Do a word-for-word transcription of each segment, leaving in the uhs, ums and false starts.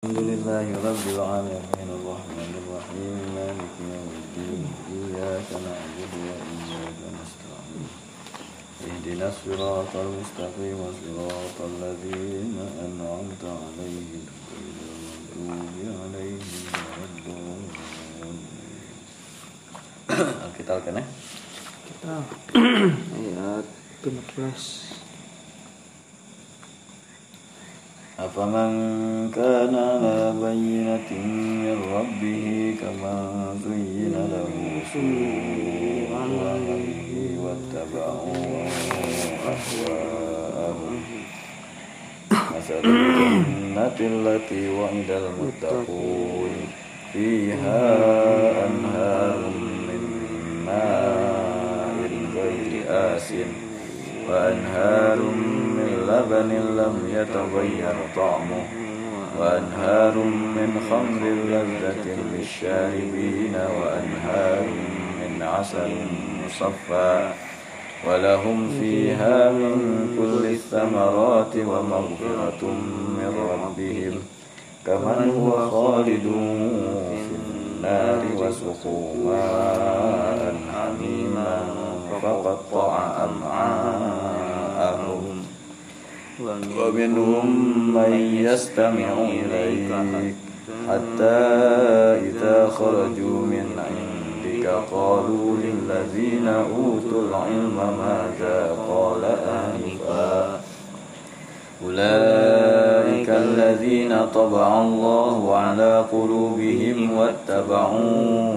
Alhamdulillahi rabbil alamin arrahmanir rahim maliki yaumiddin iyyaka na'budu wa iyyaka nasta'in ihdinas siratal mustaqim siratal ladzina an'amta 'alaihim ghairil maghdubi 'alaihim waladdallin. Alkitab kan ya? Kita ayat lima belas. Afaman kana ala bayyinatin min rabbih kama zuyyina lahu su'u amalihi wattaba'u ahwa'ahum masalul jannati allati wa'idal muttaqun fiha anharun min ma'in ghairi asin wa anharun min labanin lam yataghayyar ta'muhu wa anharun min khamrin lazzatin lisyaribina wa anharun min 'asalin musaffa wa lahum fiha min kulli thamarati wa maghfiratun min rabbihim kaman huwa khalidun fin nari wa suqu ma'an hamiman faqatta'a am'a'ahum wa minhum man yastami'u ilayka hatta idza kharaju min 'indika qalu lil ladzina utul 'ilma madza qala anifa ulaika alladzina taba'a Allahu 'ala qulubihim wattaba'u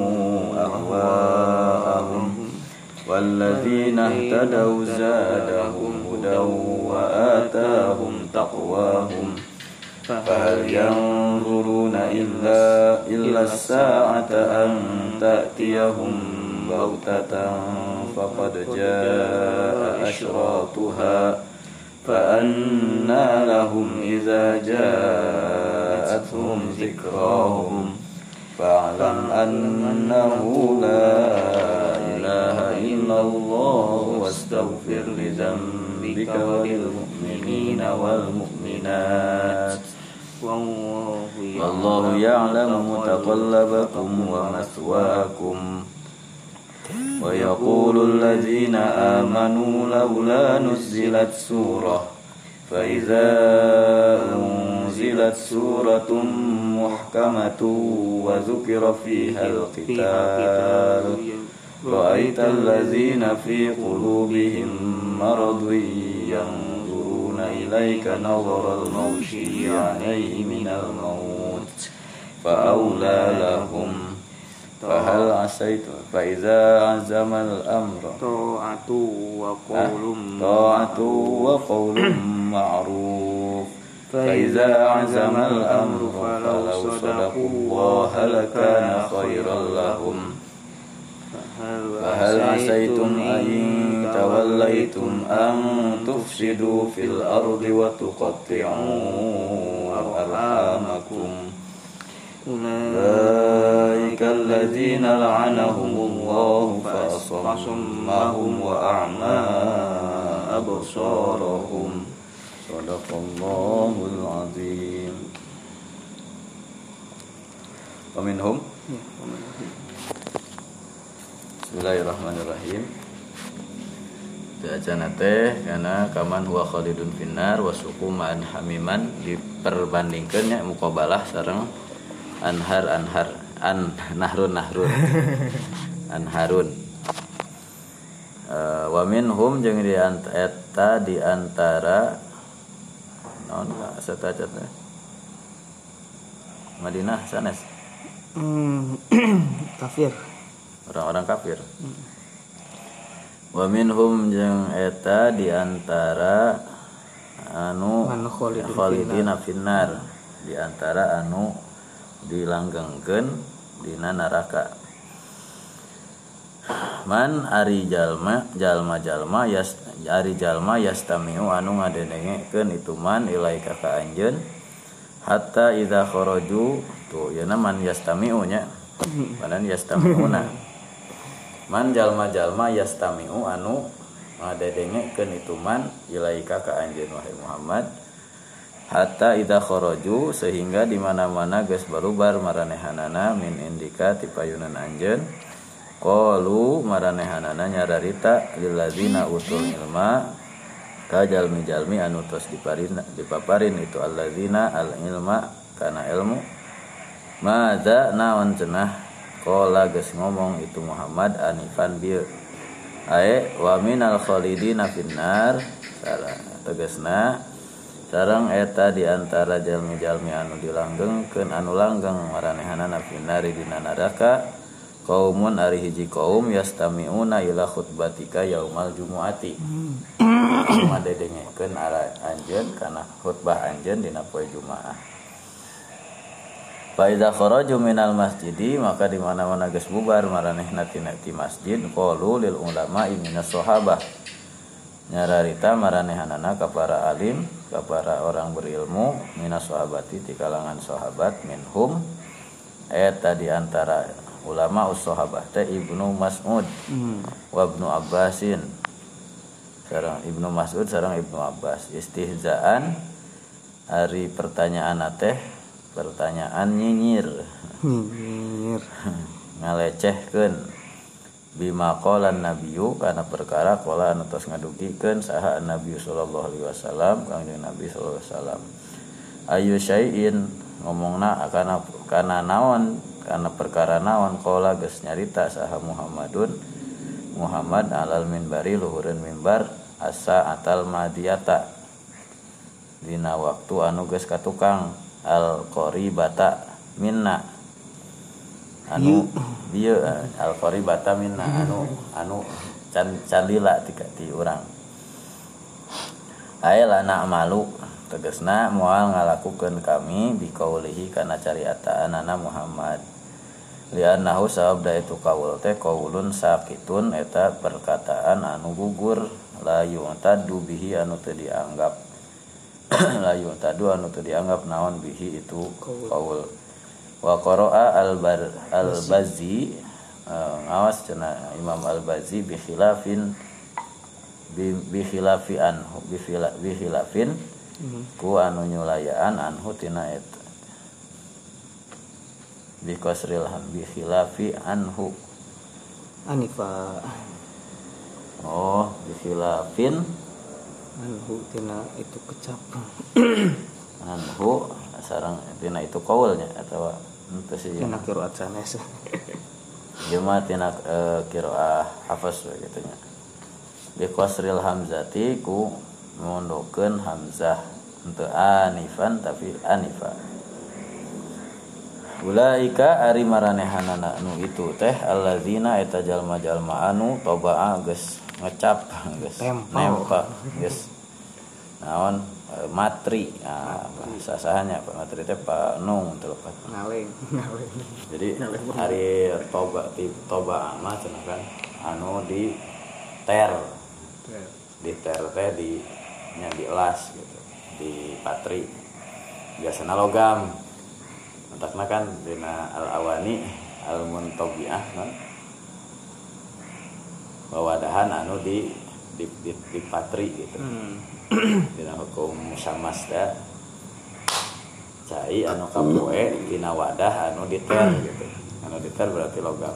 ahwa'ahum والذين اهتدوا زادهم هدى وآتاهم تقواهم فهل ينظرون إلا إلا الساعة أن تأتيهم بغتة فقد جاء أشراطها فأنى لهم إذا جاءتهم ذكراهم فاعلم أنه لا إله إلا الله واستغفر لذنبك وللمؤمنين والمؤمنات والله يعلم متقلبكم ومثواكم ويقول الذين آمنوا لولا نزلت سورة فإذا أنزلت سورة محكمة وذكر فيها القتال رأيت الذين في قلوبهم مرض ينظرون إليك نظر المغشي عليه من الموت فأولى لهم فهل عسيت فإذا عزم الأمر طاعة وقول طاعة وقول معروف فإذا عزم الأمر فلو صدقوا الله لكان خيرا لهم فهل عسيتم أن توليتم أن تفسدوا في الأرض وتقطعوا أرحامكم أولئك الذين لعنهم الله فأصمهم وأعمى أبصارهم صدق الله العظيم. ومنهم Bismillahirrahmanirrahim. Bacaan teh karena kaman huwa khalidun finnar wa suquman hamiman diperbandingkeun nya muqabalah sareng anhar anhar an nahrun nahrun anharun. Uh, wa minhum jeung di eta di antara naon sataca teh Madinah sanes hmm, kafir orang-orang kafir. Hmm. Wa minhum jeung eta di antara anu khalidina finnar di antara anu dilanggengkeun dina neraka. Man ari jalma jalma-jalma yas ari jalma yastamiu anu ngadenengekeun itu man ilaika ka anjeun hatta idza kharaju tuh yeuna man yastamiu nya panan yastamiuna man jalma-jalma yastami'u anu ngadedengekeun itu man ilaika ka anjeun wahai Muhammad hatta idza kharaju sehingga di mana-mana geus barubar maranehanana min indika ti payunan anjeun qalu maranehanana nyararita lil ladzina utul ilma ka jalmi-jalmi anu tos diparin dipaparin itu alladzina al ilma kana ilmu madza naon cenah qala geus ngomong itu Muhammad anifan bieu ae wa minal khalidina finnar tegasna sareng eta diantara jalmi-jalmi anu dilanggengkeun anu langgeng maranehanana finnari dina neraka qaumun ari hiji kaum yastamiuna ila khutbatika yaumal jumuati madedengekeun ara anjeun kana khutbah anjeun dina poe Jumaah. Fa idza kharaju minal masjidi maka di mana-mana geus bubar maranehna tina ti masjid qalu lil ulama'i minas sahabah nyararita maranehanana ka para alim ka para orang berilmu minas sahabati di kalangan sahabat minhum eta di antara ulama us sahabat teh Ibnu Mas'ud hmm. wa Ibnu Abbasin sareng Ibnu Mas'ud sareng Ibnu Abbas istihzaan ari pertanyaan teh pertanyaan nyinyir nyinyir ngalecehkeun bima qalan nabiyyu kana perkara qala anu tos ngadugikeun saha Nabi sallallahu alaihi wasallam kanjeng Nabi sallallahu alaihi wasallam ayu syai'in ngomongna kana kana naon kana perkara naon qala geus nyarita saha Muhammadun Muhammad alal minbari luhureun mimbar asa atal madiyata dina waktu anu geus katukang al qaribata minna anu dieu al qaribata minna anu anu can calila ti ti urang ayeuna na'malu tegasna moal ngalakukeun kami biqaulihi kana cariataanana Muhammad liannahu sabda itu qaul teh qaulun sakitun eta perkataan anu gugur la yu'tadu bihi anu teu dianggap la yu'tadu anu teu dianggap naon bihi itu qaul wa qara'a al-bar al-Bazzi uh, ngawas cenah Imam al-Bazzi bi khilafin bi, bi khilafi anhu bi, khila, bi khilafin mm-hmm. ku anu nyulayaan anhu tina eta bi kasril ham bi khilafi anhu anifa oh bi khilafin anhu tina itu kecap anhu sareng tina itu qaulnya atawa henteu sih tina qiraat sanes ieu mah tina e, qiraah hafaz we kitu nya bi qasril hamzati ku mondokeun hamzah henteu anifan tapi anifa ulaika ari maranehanana anu itu teh allazina eta jalma-jalma anu tabaa geus ngecap geus nempel geus naon matri nah, bahasa sahanya Pak matri teh Pak Nung telepon ngaleng ngaleng jadi hari toba di toba mah cenah kan anu di ter di ter teh di nya di elas gitu di patri biasana logam entakna kan dina al awani al muntabiah kan bawadahan anu di di di, di patri gitu hmm. dina hukum samas da cai anu kapoe dina wadah anu diter gitu anu diter berarti logam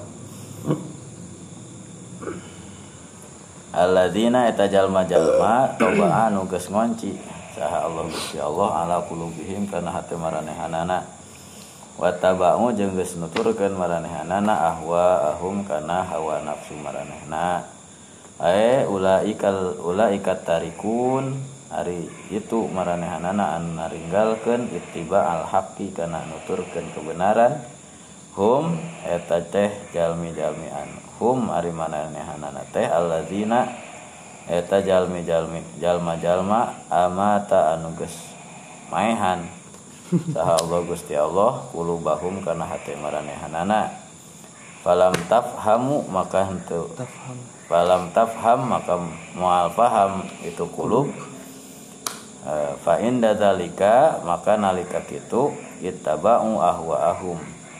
alladzina eta jalma-jalma toba anu geus ngonci saha Allah Gusti Allah ala qulubihim kana hate maranehanana wa taba'u jeung geus nuturkeun maranehanana ahwa ahum kana hawa nafsu maranehna ae ulaikal ulaikat tarikun ari itu maranehanana anu naringgalkeun ittiba al haqqi kana nuturkeun kebenaran hum eta teh jalmi-jalmi anu hum ari maranehanana teh alladzina eta jalmi-jalmi jalma-jalma amata anu geus maehan saha Allah Gusti Allah qulubahum kana hate maranehanana falam tafhamu maka henteu tafham falam tafham maka moal paham itu qulub e, fa inda zalika maka nalika kitu ittaba'u ahwaahum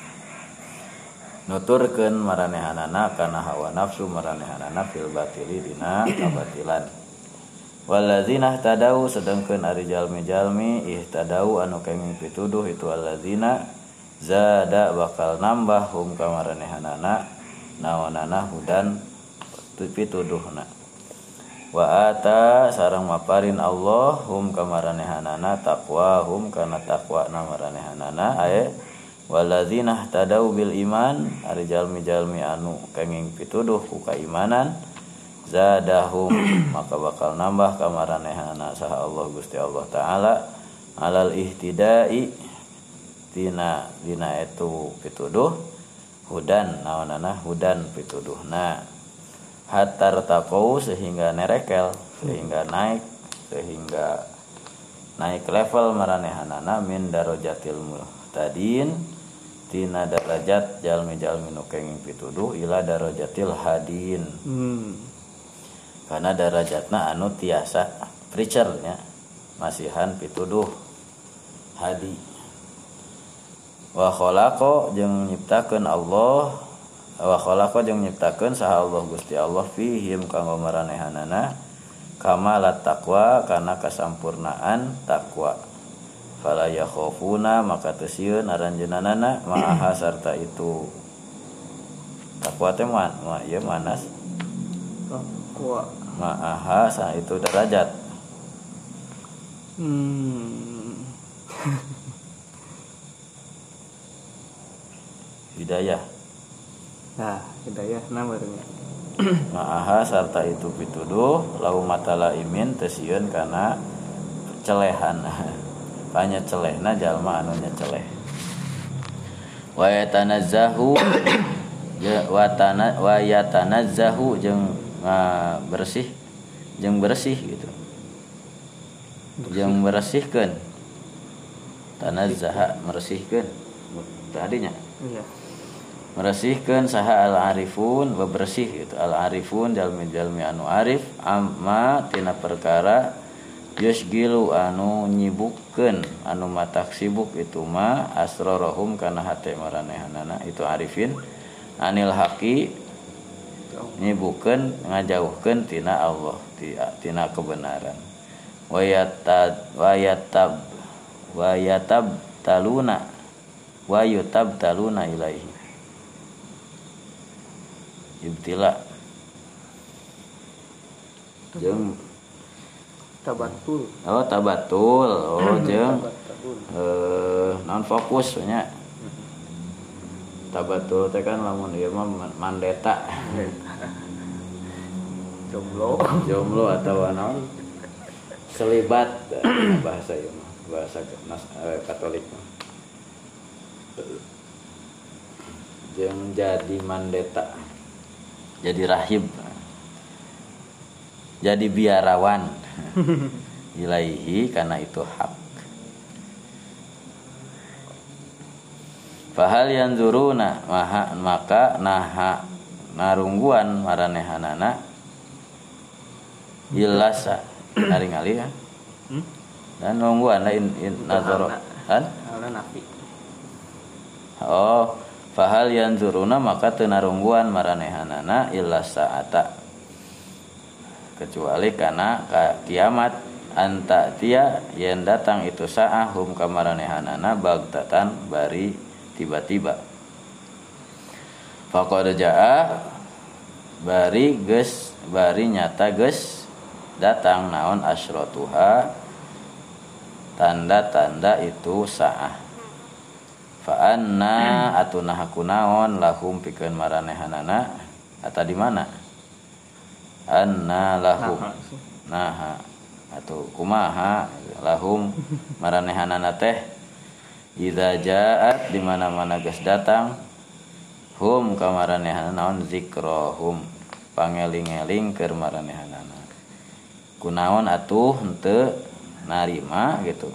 nuturkeun maranehanana kana hawa nafsu maranehanana fil batili dina kabatilan Walladzina ihtadau sedengkeun ari jalmi-jalmi ihtadau anu kenging pituduh itu alladzina zada bakal nambah hum ka maranehanana naonana hudan pituduhna. Wa ata sareng maparin Allah hum ka maranehanana taqwa hum kana taqwa na maranehanana aya walladzina ihtadau bil iman ari jalmi-jalmi anu kenging pituduh ku kaimanan zadahum maka bakal nambah kamaranehana saha Allah Gusti Allah taala alal ihtidai tina dina itu pituduh hudan naonana hudan pituduhna hatar taqau sehingga nerekel sehingga naik sehingga naik level maranehanana min darajatil muhtadin tina darajat jalmi-jalmi nu kenging pituduh ila darajatil hadin. hmm. Karena darajatna anu tiasa preacher nya masihan pituduh hadi. Wa khalaqa jeung nyiptakeun Allah wa khalaqa jeung nyiptakeun saha Allah Gusti Allah fihim kanggo maranehanana kamalat taqwa kana kasampurnaan takwa. Fala yakhafuna maka teu sieun aranjeunana ma'aha sarta itu takwa teh man ma ieu manas takwa ma'aha sa itu derajat. hmm. Hidayah Nah hidayah namanya ma'aha sarta itu pituduh lau matala imin tesieun kana celehan panya celehna jalma anu nya celeh. Wa yatanazzahu wa tana wa yatanazzahu jeung Nah, bersih jeung bersih gitu jeung bersihkeun tanazzaha meresihkeun tadinya iya meresihkeun saha al arifun bebersih gitu al arifun jalmi-jalmi anu arif amma tina perkara yusgilu anu nyibukkeun anu matak sibuk itu ma asrarahum kana hate maranehanana itu arifin anil haqi nyibukkeun ngajauhkeun tina Allah tina kebenaran. Wayatad wayatab wayatab taluna wayutab taluna ilaihi ibtila jeung tabatul oh tabatul oh jeung eh non fokus nya tabatul teh kan lamun ieu mah mandeta jomblo jomblo atau naon selibat bahasa ieu mah bahasa Katolik mah jeung jadi mandeta jadi rahib jadi biarawan ilaihi karena itu hak. Fahal yanzuruna maha maka naha narungguan maranehanana ilasa ngaringali ya hmm? Dan nungguan lain nazaro kan nafi oh fahal yanzuruna maka teu narungguan maranehanana ilasa ata kecuali kana kiamat anta tia yen datang itu saah hum kamaranehanana bagtatan bari tiba-tiba faqad jaa bari geus bari nyata geus datang naon asyratuha tanda-tanda itu saah fa anna atunah kunaon lahum pikeun maranehanana eta di mana anna lahum nah atau kumaha lahum maranehanana teh idza jaat di mana-mana geus datang hum kamaranehanana naon zikrahum pangeling-eling keur maranehanana kunaon atuh henteu narima gitu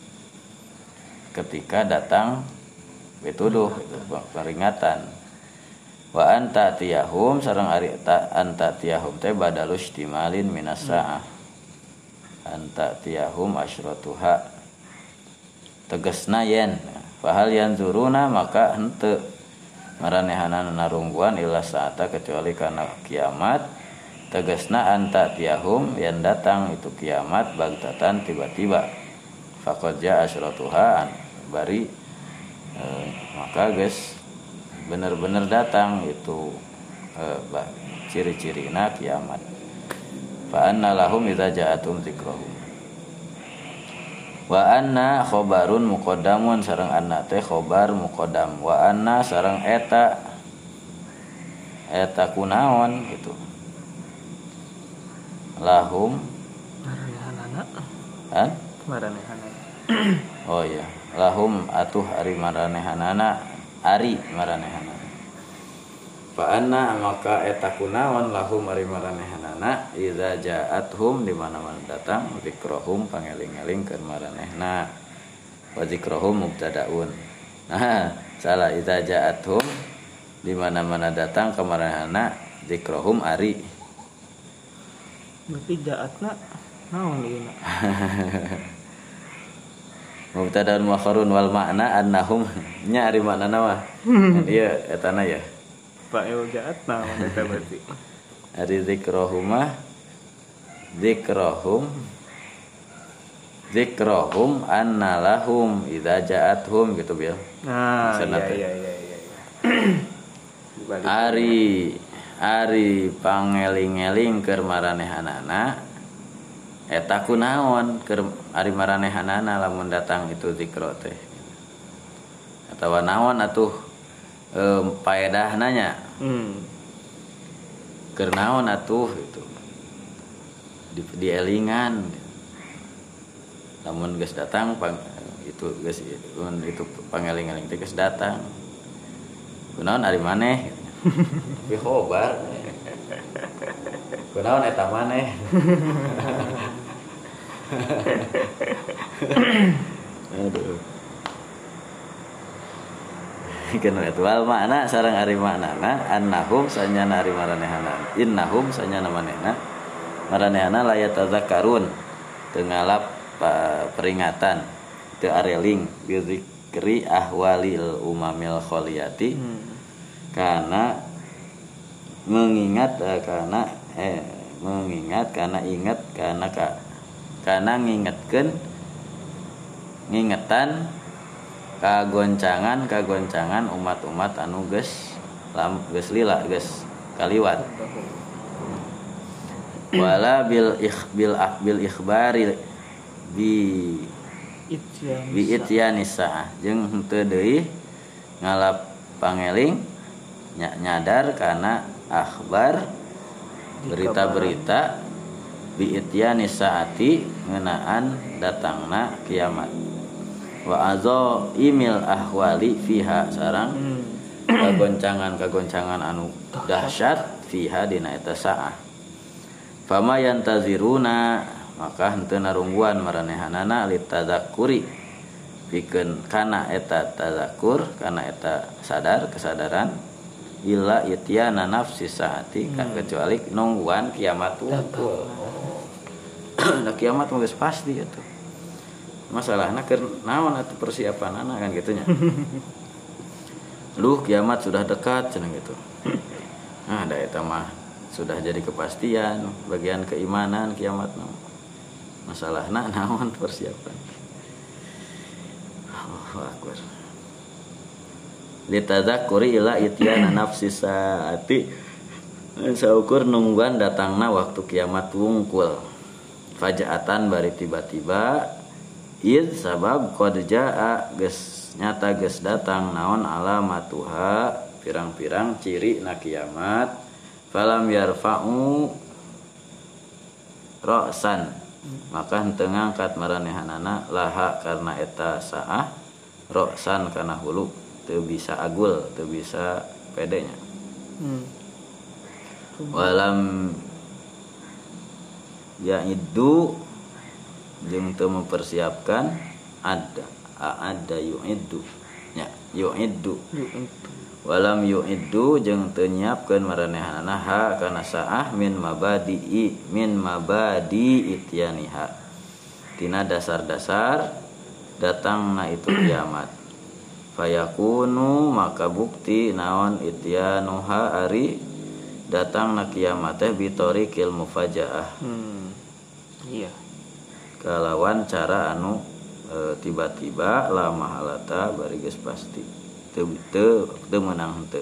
ketika datang pituduh itu peringatan wa anta tiyahum sareng ari ta anta tiyahum teh badalus timalin minas saah anta tiyahum asyratuha tegasna yen fahal yanzuruna maka henteu maranehanana narungguan ila saata kecuali kana kiamat tegasna anta tiahum yang datang itu kiamat bagtatan tiba-tiba faqad jaa asyratuha bari eh, maka geus bener-bener datang itu eh, ciri-cirina kiamat fa anna lahum idza ja'atum dzikrahum wa anna khobarun muqaddamun sareng anna teh khobar muqaddam wa anna sareng eta eta kunaon gitu lahum maranehanana kan maranehanana oh iya lahum atuh ari maranehanana ari maranehanana fa anna maka eta kunaon lahum ari maranehanana idza ja'athum di mana-mana datang zikrahum pangeling-eling keur maranehna wa zikrahum mubtadaun nah salah idza ja'athum di mana-mana datang ke maranehna zikrahum ari berarti jaatna naon ieu mubtadaun muakharun wal makna annahum nya ari maknana mah ieu etana ya pak eu jaat naon eta berarti ari zikrahum mah zikrahum zikrahum anna lahum idza ja'athum gitu bil nah Maksudna iya teh. iya iya iya ari ari pangeling-eling keur maranehanana eta kunaon keur ari maranehanana lamun datang itu zikro teh atawa naon atuh e, paedahna nya hmm. keur naon atuh itu di dielingan lamun geus datang pang, itu geus itu pangeling-eling teh geus datang kunaon ari maneh tapi khobar kunaon eta maneh aduh kana eta wal makna sareng ari maknana annahum sanyana ari maranehanana innahum sanyana manehna maranehanana la yatazakkarun teu ngalap peringatan teu areling bi zikri ahwalil umamil khaliyati hmm. karena mengingat eh, karena eh mengingat karena ingat karena ka, karena ngingetkeun ngingetan kagoncangan kagoncangan umat-umat anu geus lam geus lila geus kaliwat wala bil ikhbil akbil ikhbari bi Ityan bi ityanisa jeung henteu deui ngalap pangeling nyadar karena akhbar berita-berita bi ityani saati ngeunaan datangna kiamat wa azo imil ahwali fiha sarang hmm. kagoncangan-kagoncangan anu dahsyat fiha dina eta saah fama yantaziruna maka henteu narungguan maranehanana litadzakuri pikeun kana eta tadzakur kana eta sadar kesadaran illa ityana nafsi saati hmm. kecuali nungguan kiamat wungkul nah kiamat mah geus pasti atuh masalahna keur naon atuh persiapanana kan gitunya lu kiamat sudah dekat cenah gitu nah da eta mah sudah jadi kepastian bagian keimanan kiamat mah masalahna naon persiapan Allahu akbar litadzakuri ila ityana nafsi saati saukur nungguan datangna waktu kiamat wungkul fajaatan bari tiba-tiba id sabab qad jaa geus nyata geus datang naon alamatuha pirang-pirang ciri na kiamat falam yarfa'u ra'san maka henteu ngangkat maranehanana laha karena eta saah ra'san kana hulu teu bisa agul teu bisa pedenya hmm. walam yaidu jeung teu mempersiapkan ada ada yuiddu nya yuiddu walam yuiddu jeung teu nyiapkeun maranehanana ha kana saah min mabadi min mabadi ityaniha tina dasar-dasar datangna itu kiamat fayakunu maka bukti naon ityanuha ari datang na kiamat teh bitoriqil mufajaah Hmm. Iya. kalawan cara anu e, tiba-tiba la mahalata bari geus pasti teu teu teu meunang henteu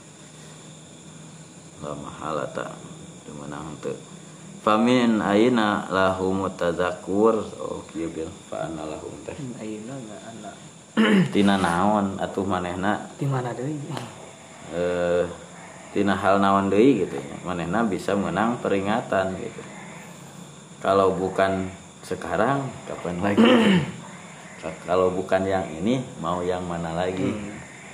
la mahalata teu meunang henteu famin aina lahum tazakkur oh kieu bil fa anna lahum teh Ayeuna enggak anak. tina naon atuh manehna Di mana deui? eh tina hal naon deui gitu ya manehna bisa menang peringatan gitu kalau bukan sekarang kapan lagi kalau bukan yang ini mau yang mana lagi Hmm.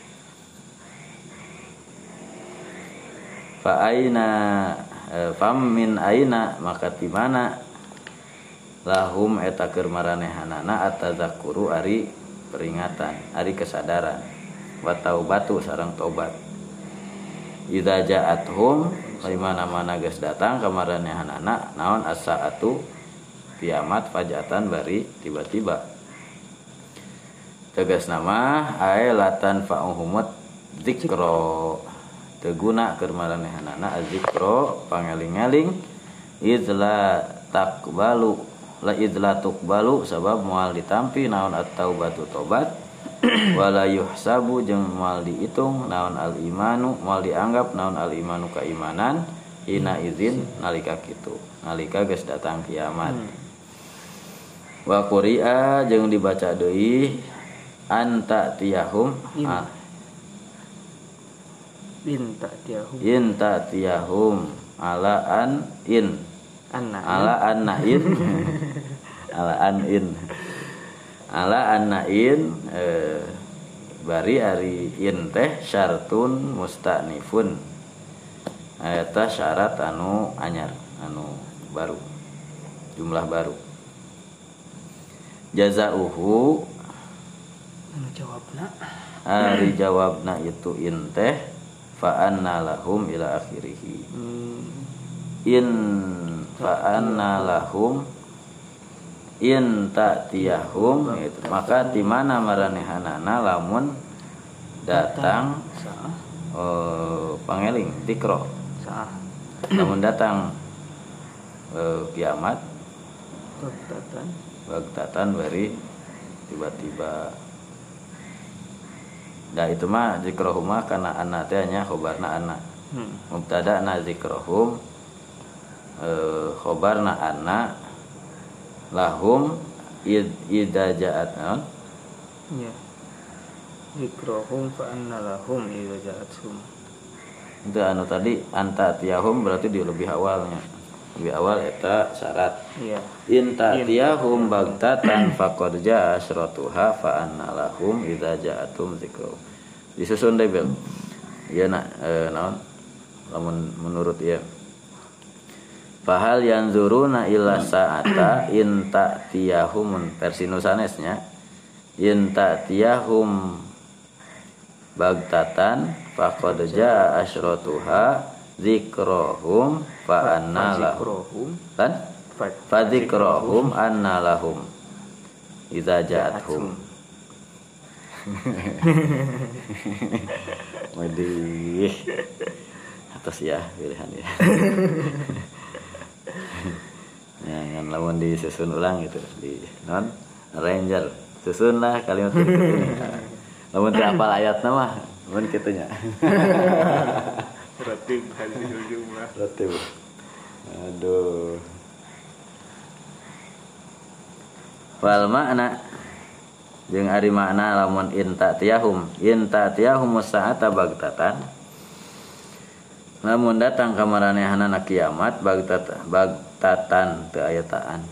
fa aina eh, fam min aina maka di mana lahum eta keur maranehanana atazakuru ari peringatan ari kesadaran wa taubatu sareng tobat idza ja'athum di mana-mana geus datang ka maranehanana naon as-saatu kiamat fajatan bari tiba-tiba tegas nama ae latan fa'uhumut zikro teguna keur maranehanana azikro pangeling-eling izla takbalu la izla tuqbalu sabab moal ditampi naon at-taubatu tobat wala yuhsabu jeung moal diitung naon al-imanu moal dianggap naon al-imanu keimanan hina izin nalika kitu nalika geus datang kiamat hmm. Wa quri'a jeung dibaca deui anta tiyahum In. ah, Binta tiahum. in ta tiyahum ala an in Anak. ala anna in ala an in ala anna in eh, bari ari in teh syartun mustanifun eta syarat anu anyar anu baru jumlah baru jazauhu Anu jawabna. ari jawabna itu in teh fa anna lahum ila akhirih Hmm. in fa anna lahum in ta'tiyahum gitu. Maka di mana maranehanana lamun datang Saah. oh, pangeling dikro Saah. lamun datang eh, kiamat Baktatan. bagtatan bari tiba-tiba dah itu mah zikrohum mah kana anna teh nya khobarna anna Hmm. mubtada na zikrohum eh, khobarna anna lahum id idza ja'at non Ya. Zikrohum fa anna lahum idza ja'athum. itu anu tadi anta tiyahum berarti di lebih awalnya lebih awal eta syarat Iya. in ta'tiyahum bagtatan faqad ja'a asyratuha fa anna lahum idza ja'atum zikru disusun deh Bel ieu na e, naon lamun menurut ieu fahal yanzuruna illa sa'ata in ta'tiyahum versi nusanesnya in ta'tiyahum bagtatan faqad ja'a asyratuha zikrohum fa anna lahum Zikrohum. kan fadzikrohum anna lahum idza ja'athum Wadih atas ya pilihan ya jangan lawan disusun ulang gitu di non ranger susun lah kalimat ini lawan terapal ayatnya mah lawan kitunya Ratib hadil jumlah. ratib aduh wal makna jeung ari makna lamun in ta'tiyahum in ta'tiyahum sa'ata bagtatan lamun datang ka maranehanana kiamat bagtatan bagtatan teu aya taan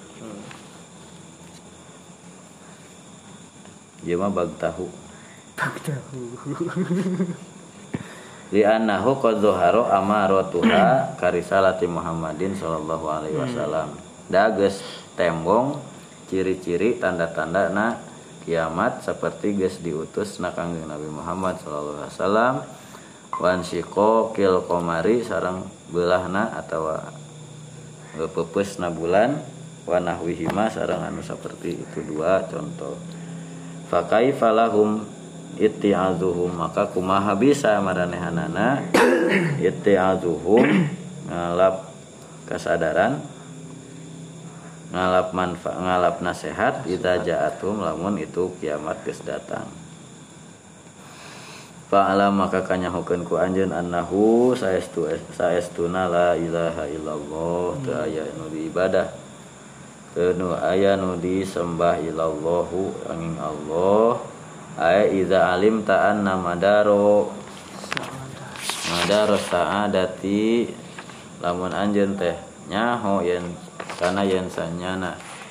ieu mah bagtahu Bagtahu. li annahu qad zahara amaratuha karisalati Muhammadin sallallahu alaihi wasallam da geus tembong ciri-ciri tanda-tanda na kiamat seperti geus diutus na kangjeng Nabi Muhammad sallallahu alaihi wasallam wan siqaqil qamari sareng beulahna atawa pepeusna bulan wa nahwihima sareng anu saperti itu dua contoh fa kaifa lahum itti'azuhum maka kumaha bisa maranehanana itti'azuhum ngalap kesadaran ngalap manfaat ngalap nasihat idza ja'atum lamun itu kiamat geus datang. Fa'ala maka kanyahokeun ku anjeun annahu saestu saestuna la ilaha illallah teu aya nu diibadah teu nu aya nu disembah illallahu angin Allah ay idza alimta anna madaro madaro sa'adati lamun anjeun teh nyaho yen kana yen sanyana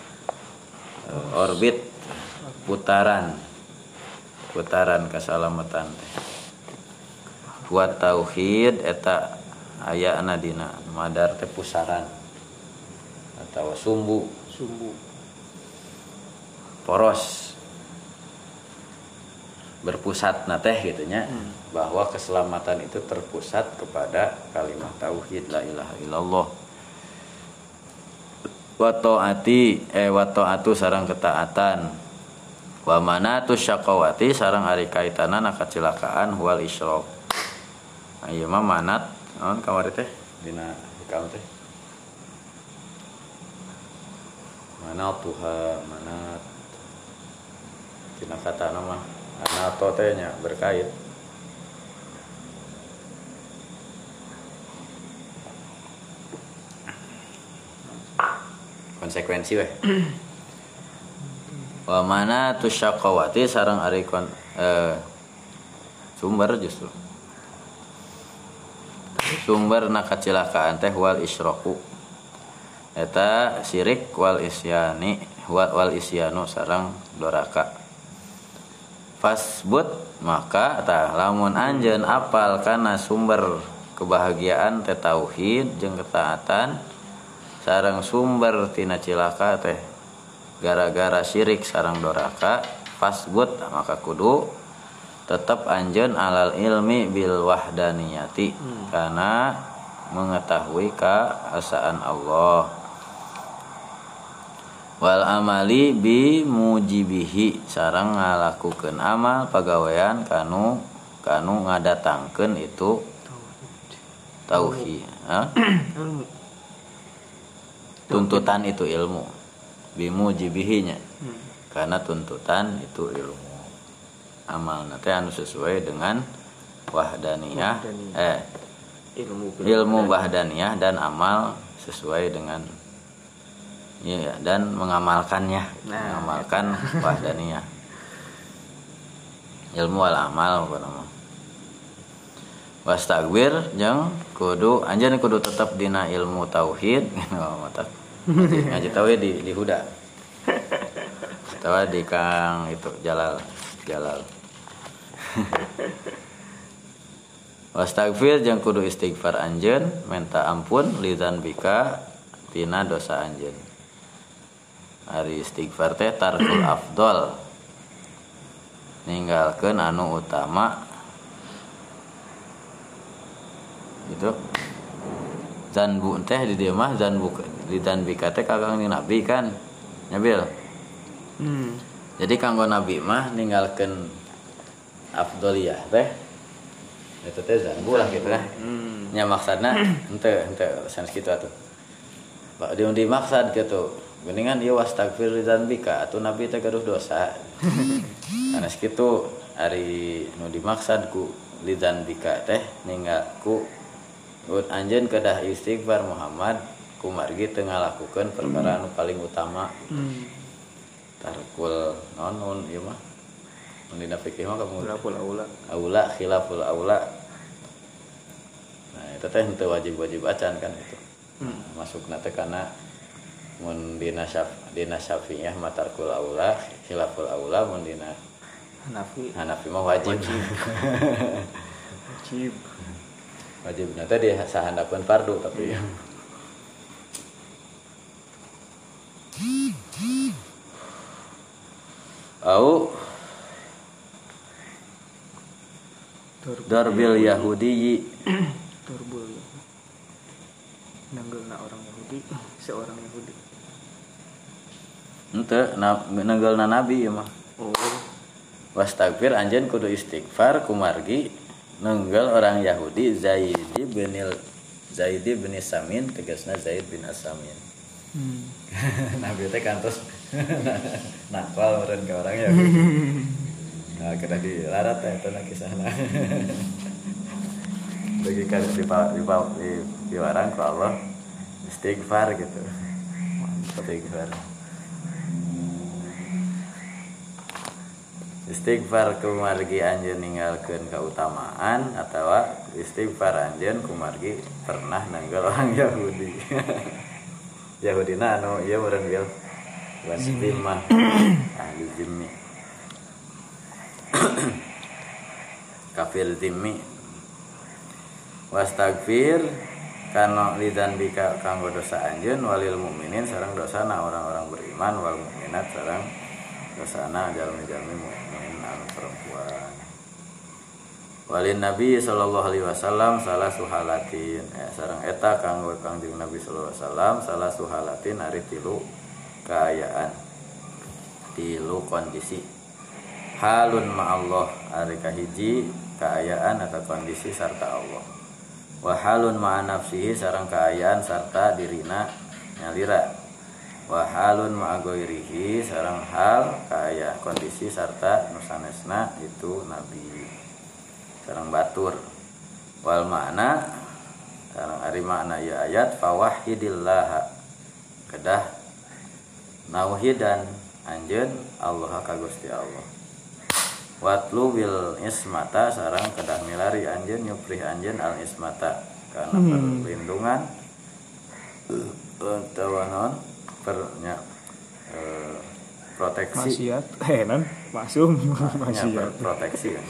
orbit putaran putaran kasalamatan teh wa tauhid eta ayana dina madar teh pusaran atau sumbu sumbu poros berpusat na teh gitu nya hmm. bahwa keselamatan itu terpusat kepada kalimat tauhid la ilaha illallah wa taati eh wa taatu sareng ketaatan wa manatu syaqawati sareng ari kaitanana kacelakaan wal isyraq ieu mah manat naon kamari teh dina hikam teh manat tuha manat dina katana mah anato teh nya berkait konsekuensi weh wa mana tusyaqawati sareng ari kon eh, sumber justru sumber na kecelakaan teh wal isyraqu eta syirik wal isyani wal, wal isyanu sareng doraka fasbut maka tah lamun anjeun apal kana sumber kebahagiaan teh tauhid jeung ketaatan sareng sumber tina cilaka teh gara-gara syirik sareng doraka fasbut maka kudu tetap anjeun alal ilmi bil wahdaniyati hmm. karena mengetahui keesaan Allah wal amali bi mujibihi sareng ngalakukeun amal pagawean kanu kanu ngadatangkeun itu tauhid ha tuntutan itu ilmu bi mujibihinya hmm. karena tuntutan itu ilmu amal nanti anu sesuai dengan wahdaniyah, wahdaniyah. eh ilmu ilmu wahdaniyah dan amal sesuai dengan ya dan mengamalkannya nah, mengamalkan ya. Wahdaniyah ilmu wal amal apa nama wastagwir jeung kudu anjeun kudu tetap dina ilmu tauhid mata ngaji tauhid di di huda tawa di kang itu jalal jalal wastagfir jeung kudu istighfar anjeun minta ampun lidzan bika tina dosa anjeun ari istighfar teh tarkul afdol ninggalkeun anu utama gitu zanbu teh di dieu mah zanbu lidzan bika teh kagang ni nabi kan nyabil hmm. jadi kanggo nabi mah ninggalkeun afdoliyah teh eta teh zanbu lah gitu lah hmm. nya maksudna henteu henteu sanes kitu atuh Pak di dimaksud gitu geuningan ieu wastagfir lidzanbika atuh nabi teh gaduh dosa sanes kitu ari nu dimaksud ku lidzanbika teh ninggal ku ut anjeun kedah istighfar Muhammad ku margi teu ngalakukeun perkara anu paling utama hmm. tarkul naon ieu mah mun dina fikih mah kamu khilaful aula aula khilaful aula nah eta teh henteu wajib-wajib acan kan itu hmm. masukna teh kana mun dina syaf dina syafi'iyah mah tarkul aula khilaful aula mun dina Hanafi Hanafi mah wajib wajib wajib nanti di sahandapeun fardu tapi au darbil yahudi darbul nanggalna orang Yahudi seorang Yahudi henteu na nanggalna nabi ya mah oh Wastagfir anjeun kudu istighfar kumargi nenggal orang Yahudi Zaid bin Zaid bin Samin tegasna Zaid bin Asamin. Hmm. Nabi teh kantos nakal meureun ka orang Yahudi. Nah, kena dilarat teh eta kisahna. Bagi kan di di di diwarang ku Allah istighfar gitu. Istighfar. Istighfar kumargi anjeun ninggalkeun kautamaan atawa istighfar anjeun kumargi pernah nanggal orang Yahudi. Yahudina anu ieu meureun bil wasbimah ahli zimmi. Kafir zimmi. Wastagfir kana lidan bika kanggo dosa anjeun walil mukminin sareng dosana orang-orang beriman wal mukminat sareng dosana jalmi-jalmi mukmin anu perempuan. Walin Nabi sallallahu alaihi wasallam salah suhalatin eh, sareng eta kanggo Kangjeng Nabi sallallahu alaihi wasallam salah suhalatin ari tilu kaayaan tilu kondisi. Halun ma'allah ari kahiji kaayaan atau kondisi sarta Allah. Wa halun ma'a nafsihi sareng kaayaan sarta dirina nyalira. Wa halun ma'a ghairihi sareng hal kaayaan kondisi sarta nusanesna itu Nabi sareng batur. Wal makna sareng ari makna ieu ayat fawahidillah kedah nauhidan anjeun Allah ka Gusti Allah. Watlu bil ismata sarang kedah milari anjeun nyuprih anjeun al ismata karena hmm. perlindungan utawa non pernya e, proteksi maksiat eh non maksum maksiat proteksi kan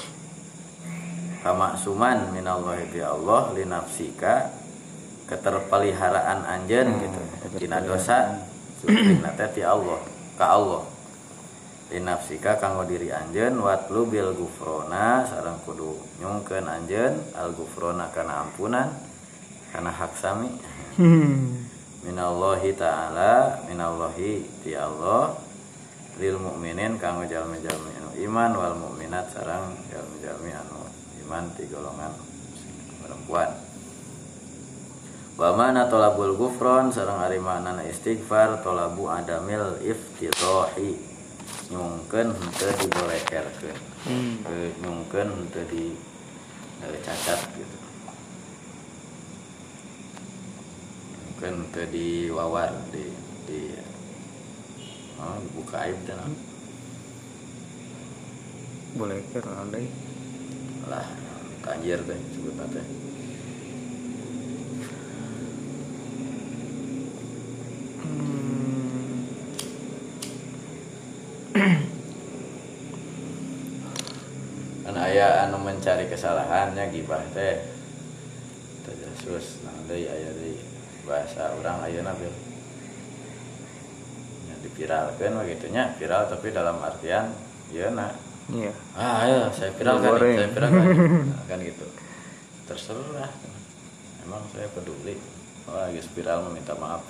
kamaksuman minallahi bi Allah li nafsika keterpeliharaan anjeun gitu tina dosa sutrina teh ti Allah ka Allah li nafsika kanggo diri anjeun watlu bil gufrona sareng kudu nyungkeun anjeun al gufrona kana ampunan kana hak sami minallahi ta'ala minallahi ti Allah lil mukminin kanggo jalmi-jalmi anu iman wal mukminat sareng jalmi-jalmi anu iman ti golongan perempuan. Wa mana talabul gufron sareng ari maknana istighfar talabu adamil iftitahi nyungkeun henteu dibolekerkeun. Hmm. Nyungkeun henteu di e, cacat gitu. Nyungkeun henteu diwawar di di oh, buka aib teh naon. Boleker andai lah kanjir teh sebutna teh. Kan aya anu mencari kesalahannya gibah teh. Tajasus nah deui aya deui bahasa urang ayeuna bil. Nya dipiralkeun mah kitu nya, viral tapi dalam artian yeuna. Iya. Ah, ayo saya viral kan, saya viral kan. Nah, kan gitu. Terserah. Emang saya peduli. Wah, geus viral meminta maaf.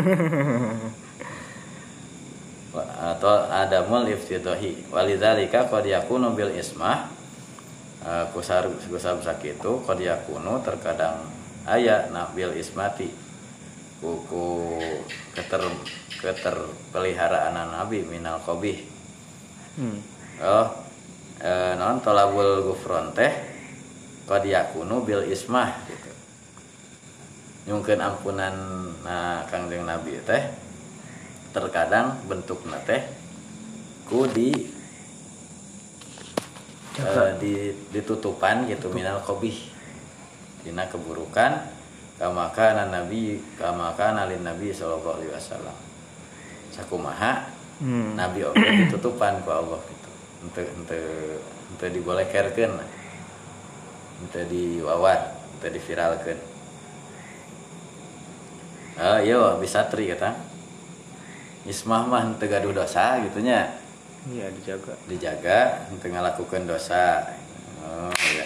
Atau adamul iftitahi. Walidzalika qad yakunu bil ismah. Kusar kusar sakitu qad yakunu terkadang aya na bil ismati. Kuku keter keterpeliharaan Nabi minal qabih. Hmm. Oh, e, non tolabul gufron teh qad yakunu bil ismah gitu. Nyungkeun ampunan na Kangjeng Nabi teh terkadang bentukna teh ku di e, di ditutupan gitu minal qabih dina keburukan kama kana nabi kama kana lin nabi sallallahu alaihi wasallam. Sakumaha hmm. Nabi oge ditutupan ku Allah gitu. Ente ente ente dibolekerkeun ente diwawar ente diviralkeun ah iya bisa tri kata ismah mah ente gaduh dosa gitu nya iya dijaga dijaga ente ngalakukeun dosa oh iya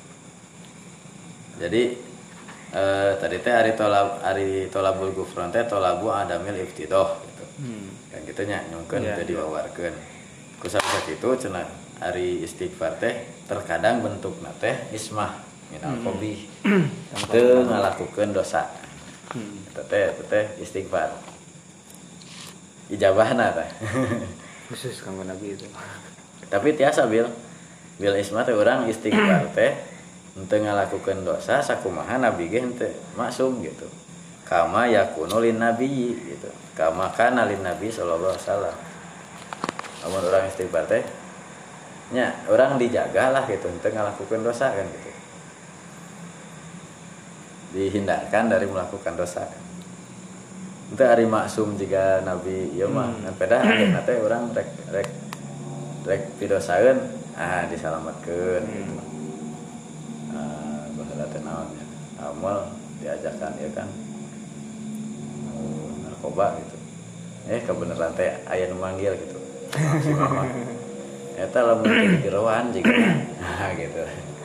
jadi eh, tadi teh ari tolab ari tolabul gufron teh tolabu adamil iftidah gitu hmm. kan gitu nya nyungkeun yeah, ente yeah. diwawarkeun kusabab itu cenah ari istighfar teh terkadang bentukna teh ismah minal qabih teu ngalakukeun dosa eta teh eta teh istighfar ijabahna teh khusus kanggo nabi itu. tapi tiasa bil bil ismah teh urang istighfar teh henteu ngalakukeun dosa sakumaha nabi ge henteu maksum gitu kama yakunu lin nabi gitu kama kana lin nabi sallallahu alaihi wasallam amun urang istighfar teh nya orang dijaga lah gitu henteu ngalakukeun dosa kan gitu dihindarkan dari melakukan dosa itu ari maksum jika nabi ieu mah ngan peda akhirna teh urang rek rek rek pidosaeun ah disalametkeun gitu ah baheula teh naon ya amal diajakan ya kan oh, narkoba gitu eh kebenaran teh aya nu manggil gitu maksimal eta lamun jadi jeroan juga nah gitu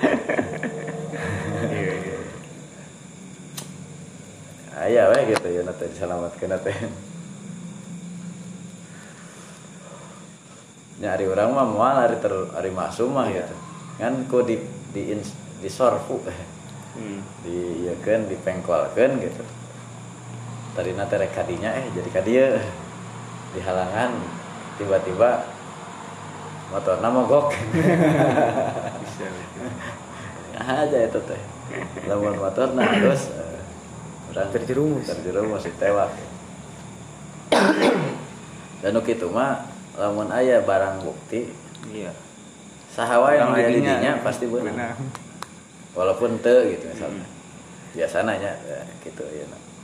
aya we gitu ya nanti diselamatkeun teh nyari urang mah moal ari ter ari maksum mah gitu kan ku di di di sorfu hmm. di ieukeun dipengkolkeun gitu tarina teh rek kadinya eh jadi ka dieu di halangan tiba-tiba motorna mogok bisa aja itu teh lamun motorna terus uh, urang terjerumus terjerumus ditewak dan nu kitu mah lamun aya barang bukti iya saha wae nu aya di dinya pasti beunang walaupun teu gitu misalnya hmm. biasana nya ya, gitu ya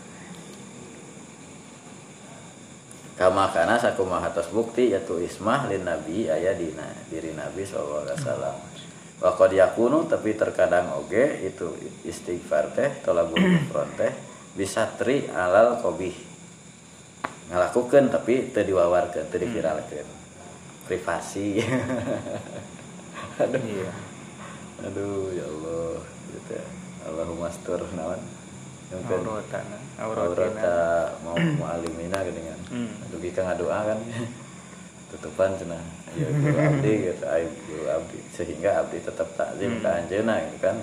kama kana sakumaha tos bukti yaitu ismah lin nabi aya dina diri nabi sallallahu alaihi wasallam wa qad yakunu tapi terkadang oge itu istighfar teh tolabul kufron teh bisa tri alal qabih ngalakukeun tapi teu diwawarkeun teu diviralkeun privasi aduh iya aduh ya Allah gitu ya Allahumma astur naon auratana aurata mau mualimina geuningan hmm. dugi ka ngadoa kan tutupan cenah ya guru abdi gitu aib guru abdi sehingga abdi tetap takzim hmm. ka anjeunna gitu kan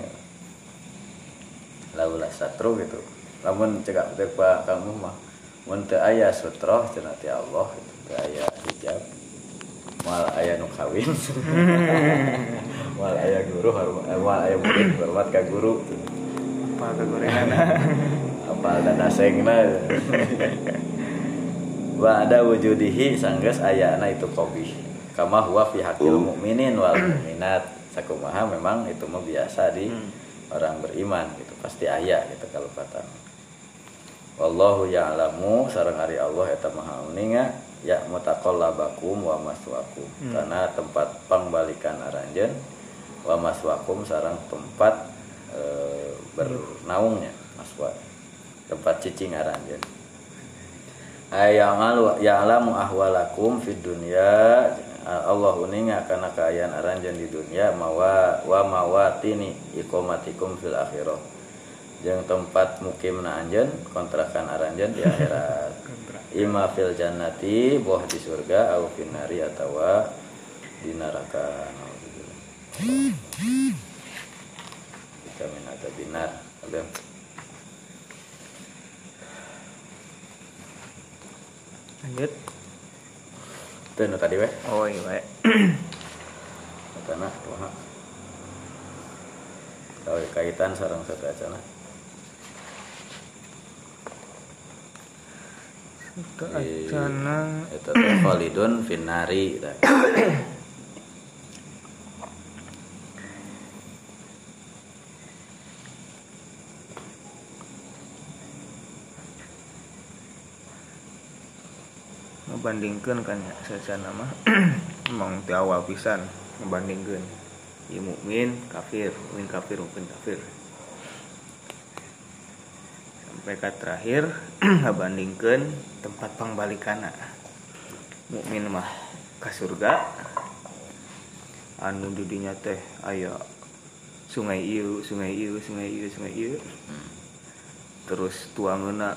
laula satru gitu lamun cegak teh Pak kamu mah mun teu aya sutroh cenah ti Allah gitu teu aya hijab moal aya nu kawin moal aya guru hormat moal aya murid hormat ka guru apa kegorengan apal dadasengna wa ada wujudihi sanggeus ayana itu qabih kama huwa fi haqqil mukminin wal mukminat sakumaha memang itu mah biasa di hmm. orang beriman gitu pasti aya gitu kalupatan wallahu ya'lamu sareng ari Allah eta maha uninga ya mutaqallabakum wa maswaakum hmm. karena tempat pangbalikan aranjeun wa maswaakum sareng tempat e, bernaungnya maswa tempat cicing aranjeun ayamalu ya'lamu ahwalakum fid dunya Allah uninga kana kaayaan aranjeun di dunia mawa wa mawatini iqamatikum fil akhirah jeung tempat mukimna anjeun kontrakan aranjeun di akhirat imma fil jannati boh di surga au finari atawa di neraka kita minata binar abang lanjut itu nu tadi weh oh iya weh tanah wah tahu kaitan sareng satacana satacana eta teh khalidun finnari tah ngebandingkeun kan ya sacana mah emang ti awal pisan ngebandingkeun ieu mukmin kafir mukmin kafir mukmin kafir sampai ka terakhir ngebandingkeun tempat pangbalikanna mukmin mah ka surga anu di dinya teh aya sungai ieu sungai ieu sungai ieu sungai ieu terus tuangeuna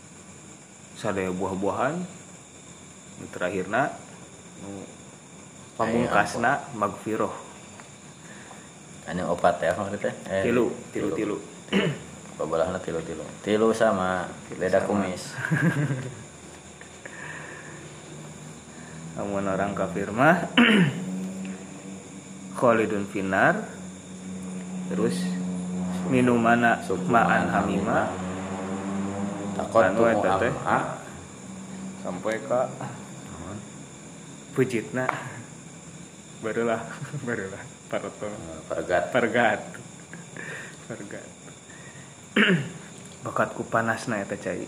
sadaya buah-buahan terakhirna nu pamungkasna magfirah. Anu opat ya maksudnya eh, Tilu, tilu, tilu. Pabelahna tilu tilu tilu sama beda kumis. Amun orang kafir mah khalidun finar, terus minumana ma'an hamima takon anu eta teh am'a sampai ka pujitna barulah barulah paroto pergat pergat pergat bakatku panasna eta cai.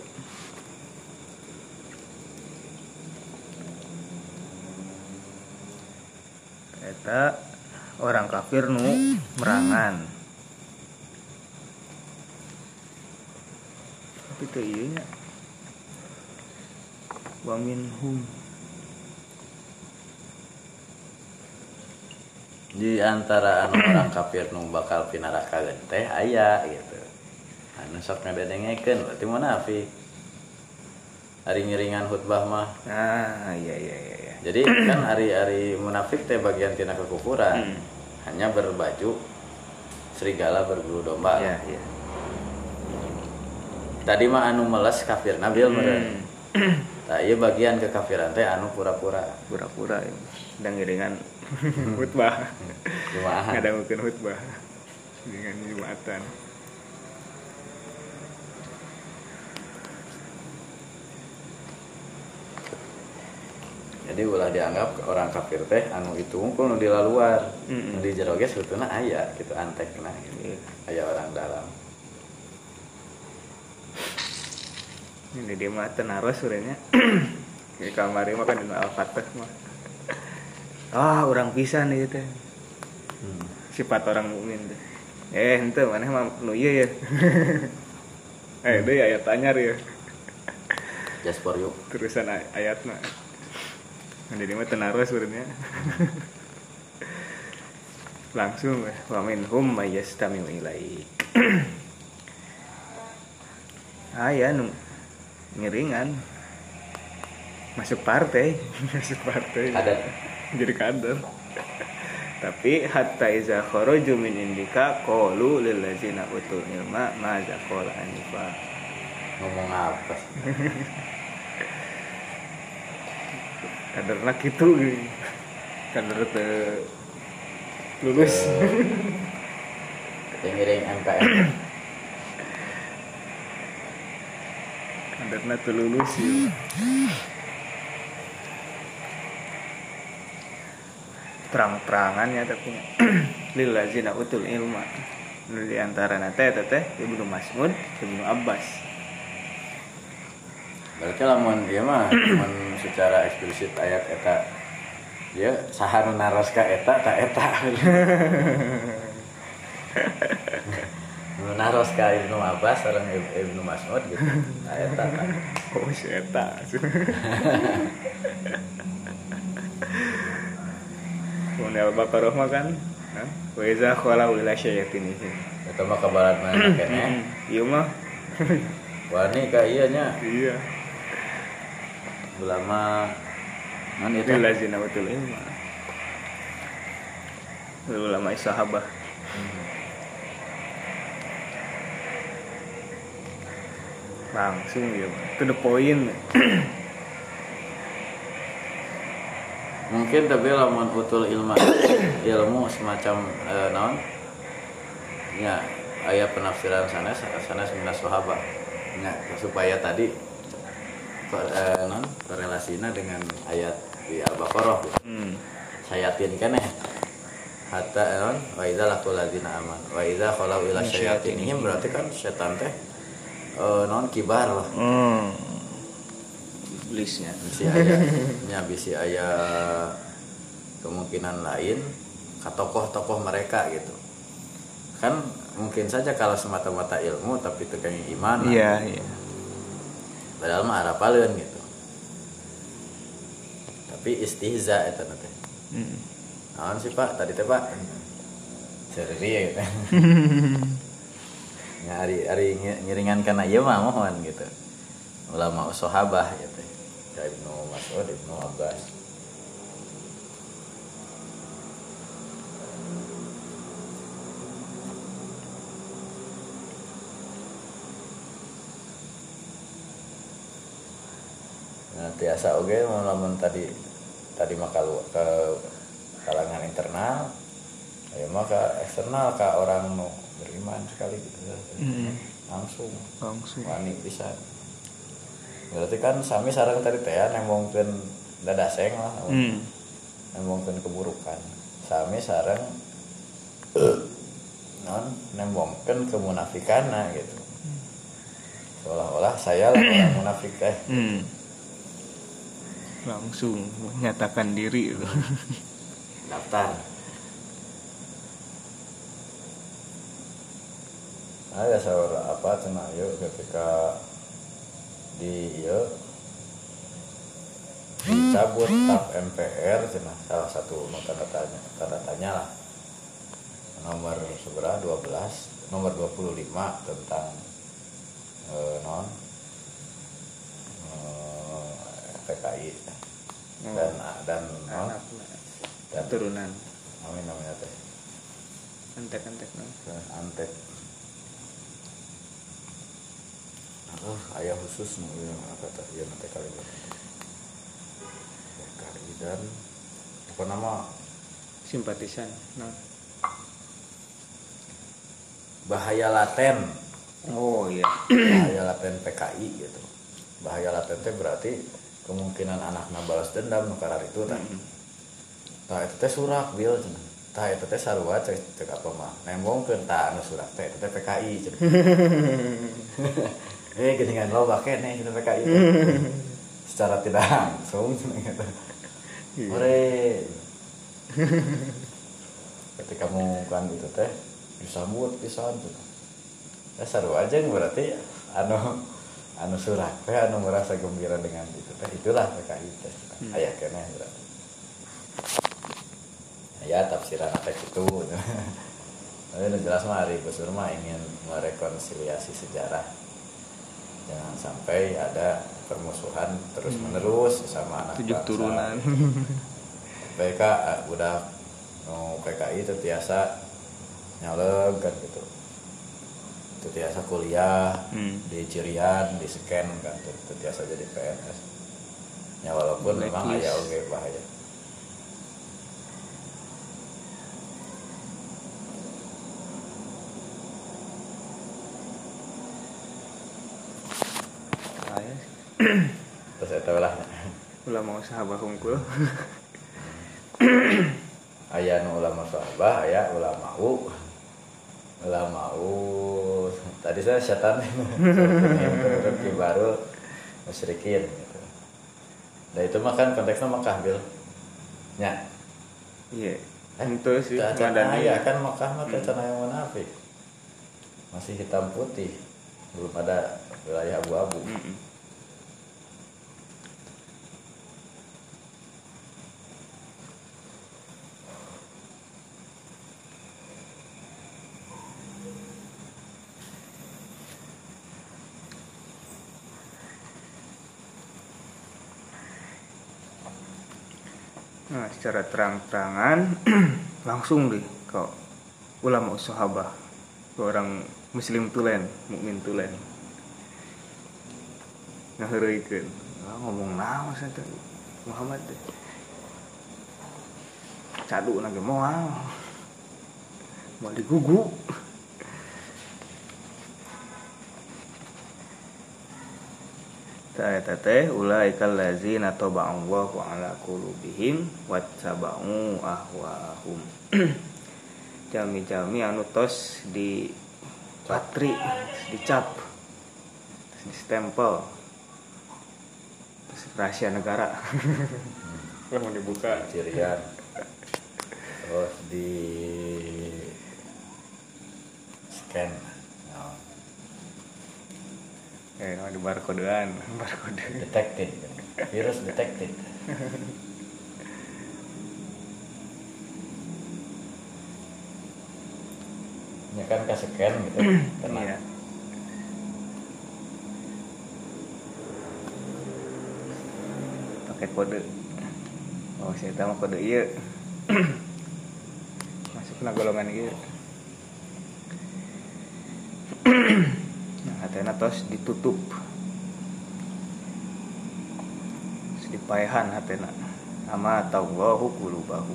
Eta orang kafir nu merangan. Tapi teu ieu nya. Wa minhum. Di antara anu orang kafir nu bakal pinaraka teh aya gitu. Anu sok ngadedengekeun berarti munafik. Hari ngiringan khutbah mah. Ah, iya iya iya. Jadi kan hari-hari munafik teh bagian tina kekufuran. Hmm. Hanya berbaju serigala berbulu domba. Iya, iya. Tadi mah anu meles kafir nabil Hmm. meureun. Tah ieu bagian kekafiran teh anu pura-pura. Pura-pura ya. Dan ngiringan khutbah. Jumaahan. Ngadangukeun khutbah. Dengan jumatan. Jadi ulah dianggap orang kafir teh anu itu unggul nu di luar. Mm-mm. Nu di jero ge sebetulna aya gitu antekna gitu. Iya. Aya orang dalam. Ini dia mah tenaros urangnya. Di kamar mah kan dina Al-Fatah mah. Ah, orang pisan ieu teh. Hmm. Sifat orang mukmin teh. Eh, henteu maneh mah nu ieu ya. Eh, deui ayat anyar ya. Just for you. Terusan ay- ayatna. Jadi mah tenaros urangnya. Langsung weh, wa minhum may yastami'u ilaik. Aya nu ngiringan masuk partai, masuk partai. Kader. Jadi kader. Tapi hatta iza kharaju min indika qalu lil ladzina utul ilma madza qala anifa. Ngomong apa? Kaderna kitu geuning. Kader teu lulus. Teh ngiring M K M. Kaderna teu lulus ya. Terang-terangan ya tapi lil ladzina utul ilma. Nu di antarana teh eta teh Ibnu Mas'ud, Ibnu Abbas. Berarti lamun ieu mah mun secara eksplisit ayat eta ya saha nu naros ka eta ta eta. Nu naros ka Ibnu Abbas sareng Ibnu Mas'ud gitu. Ta eta ta. Oh si eta. Mun Al-Baqarah mah kan, wa iza khala ila syayatin itu. Eta mah kabarat mana keneh. Ieu mah Wani ka ieu nya iya. ulama man itu Lil ladzina utul ilma. Ulama sahabah. Langsung ya, to the point. mungkin tapi lamun utul ilma ilmu semacam eh, naon ya aya penafsiran sanes sanes minas sahabah nya supaya tadi eh, non korelasinya dengan ayat di Al-Baqarah gitu. Hmm. Sayatin keneh hatta non wa idza laqul ladzina aman wa idza khalau ila syayatinihim berarti kan setan teh eh, non kibar lah. Hmm. Iblisnya. Bisi aya nya bisi aya kemungkinan lain ka tokoh-tokoh mereka gitu. Kan mungkin saja kalau semata-mata ilmu tapi tegang iman. Iya, iya. Padahal mah arapaleun gitu. Tapi istihza eta teh. Heeh. Naon sih Pak? Tadi teh Pak. Ceria gitu. Ya ari ari ngiringan kana ieu mah mohon gitu. Ulama sahabah gitu. Kayak Ibnu Mas'ud, Ibnu Abbas. biasa oke okay, lamun tadi tadi mah kalau ke kalangan internal ya maka eksternal ke orang nu beriman sekali gitu mm-hmm. langsung langsung wani pisan berarti kan sami sareng tadi teh nembongkeun dadaseng lah mm. nembongkeun keburukan sami sareng non nembongkeun kemunafikanna gitu seolah-olah saya lah orang munafik teh mm. langsung menyatakan diri itu daftar. Ada seorang apa cenah yuk ketika di yuk dicabut tap M P R cenah salah satu tanda tanya tanda tanya lah nomor seberapa dua belas nomor dua puluh lima tentang eh, non P K I oh. dan dan non dan turunan amin namanya teh antek antek non antek oh ayah khusus nih yang kata ya nanti kali ini P K I dan apa nama simpatisan non bahaya laten oh iya bahaya laten P K I gitu bahaya laten teh berarti kemungkinan anakna balas dendam nu karar itu tah. Mm-hmm. Tah eta teh surak bil cenah. Tah eta teh sarua cek cek apa mah. Nembongkeun tah anu surak teh eta teh P K I cenah. Eh geuningan loba keneh cenah P K I. Secara tidak langsung cenah eta. Ore. Ketika mengumumkan itu teh disambut pisan cenah. Ya sarua aja berarti anu anu surat teh anu merasa gembira dengan itu teh itulah P K I teh hmm. aya keneh berarti aya tafsiran teh kitu tapi nu jelas mah ari Gusur mah ingin merekonsiliasi sejarah jangan sampai ada permusuhan terus menerus sama anak tujuh turunan P K budak nu P K I teh tiasa nyaleg kan gitu itu biasa kuliah hmm. di Cirian, di scan kan itu biasa jadi P N S ya walaupun Black memang list. Aya oge bahaya saya terus eta lah ulama sahabah hungkul aya nu ulama sahabah aya ulama u ulama u tadi saya setan itu baru musyrikin gitu. Nah itu mah kan konteksnya Makkah bil nya iya itu sih dan ya kan Makkah mah teh tanah yang munafik masih hitam putih belum ada wilayah abu-abu mm-hmm. Nah, secara terang-terangan langsung deh ke ulama sahabah, ke orang muslim tulen, mukmin tulen. Ngaheureuikeun, ah, ngomong naon santai Muhammad teh. Cadu na ge moal. Moal digugu. Ta'ata teh ulaikal ladzina taba'allahu ala qulubihim wattaba'u ahwa'ahum. Jami-jami anu tos di patri, dicap, di stempel. Rahasia negara. Kalau mau dibuka cirian. Terus di scan. Eh, no, di barcodean, barcode. Detected, virus detected. Ini kan ke scan gitu, kena. Iya. Pakai kode. Oh, saya tahu kode iya. Masuk ke golongan iya. Hatena tos ditutup paehan hatena ama tawallahu qulubahu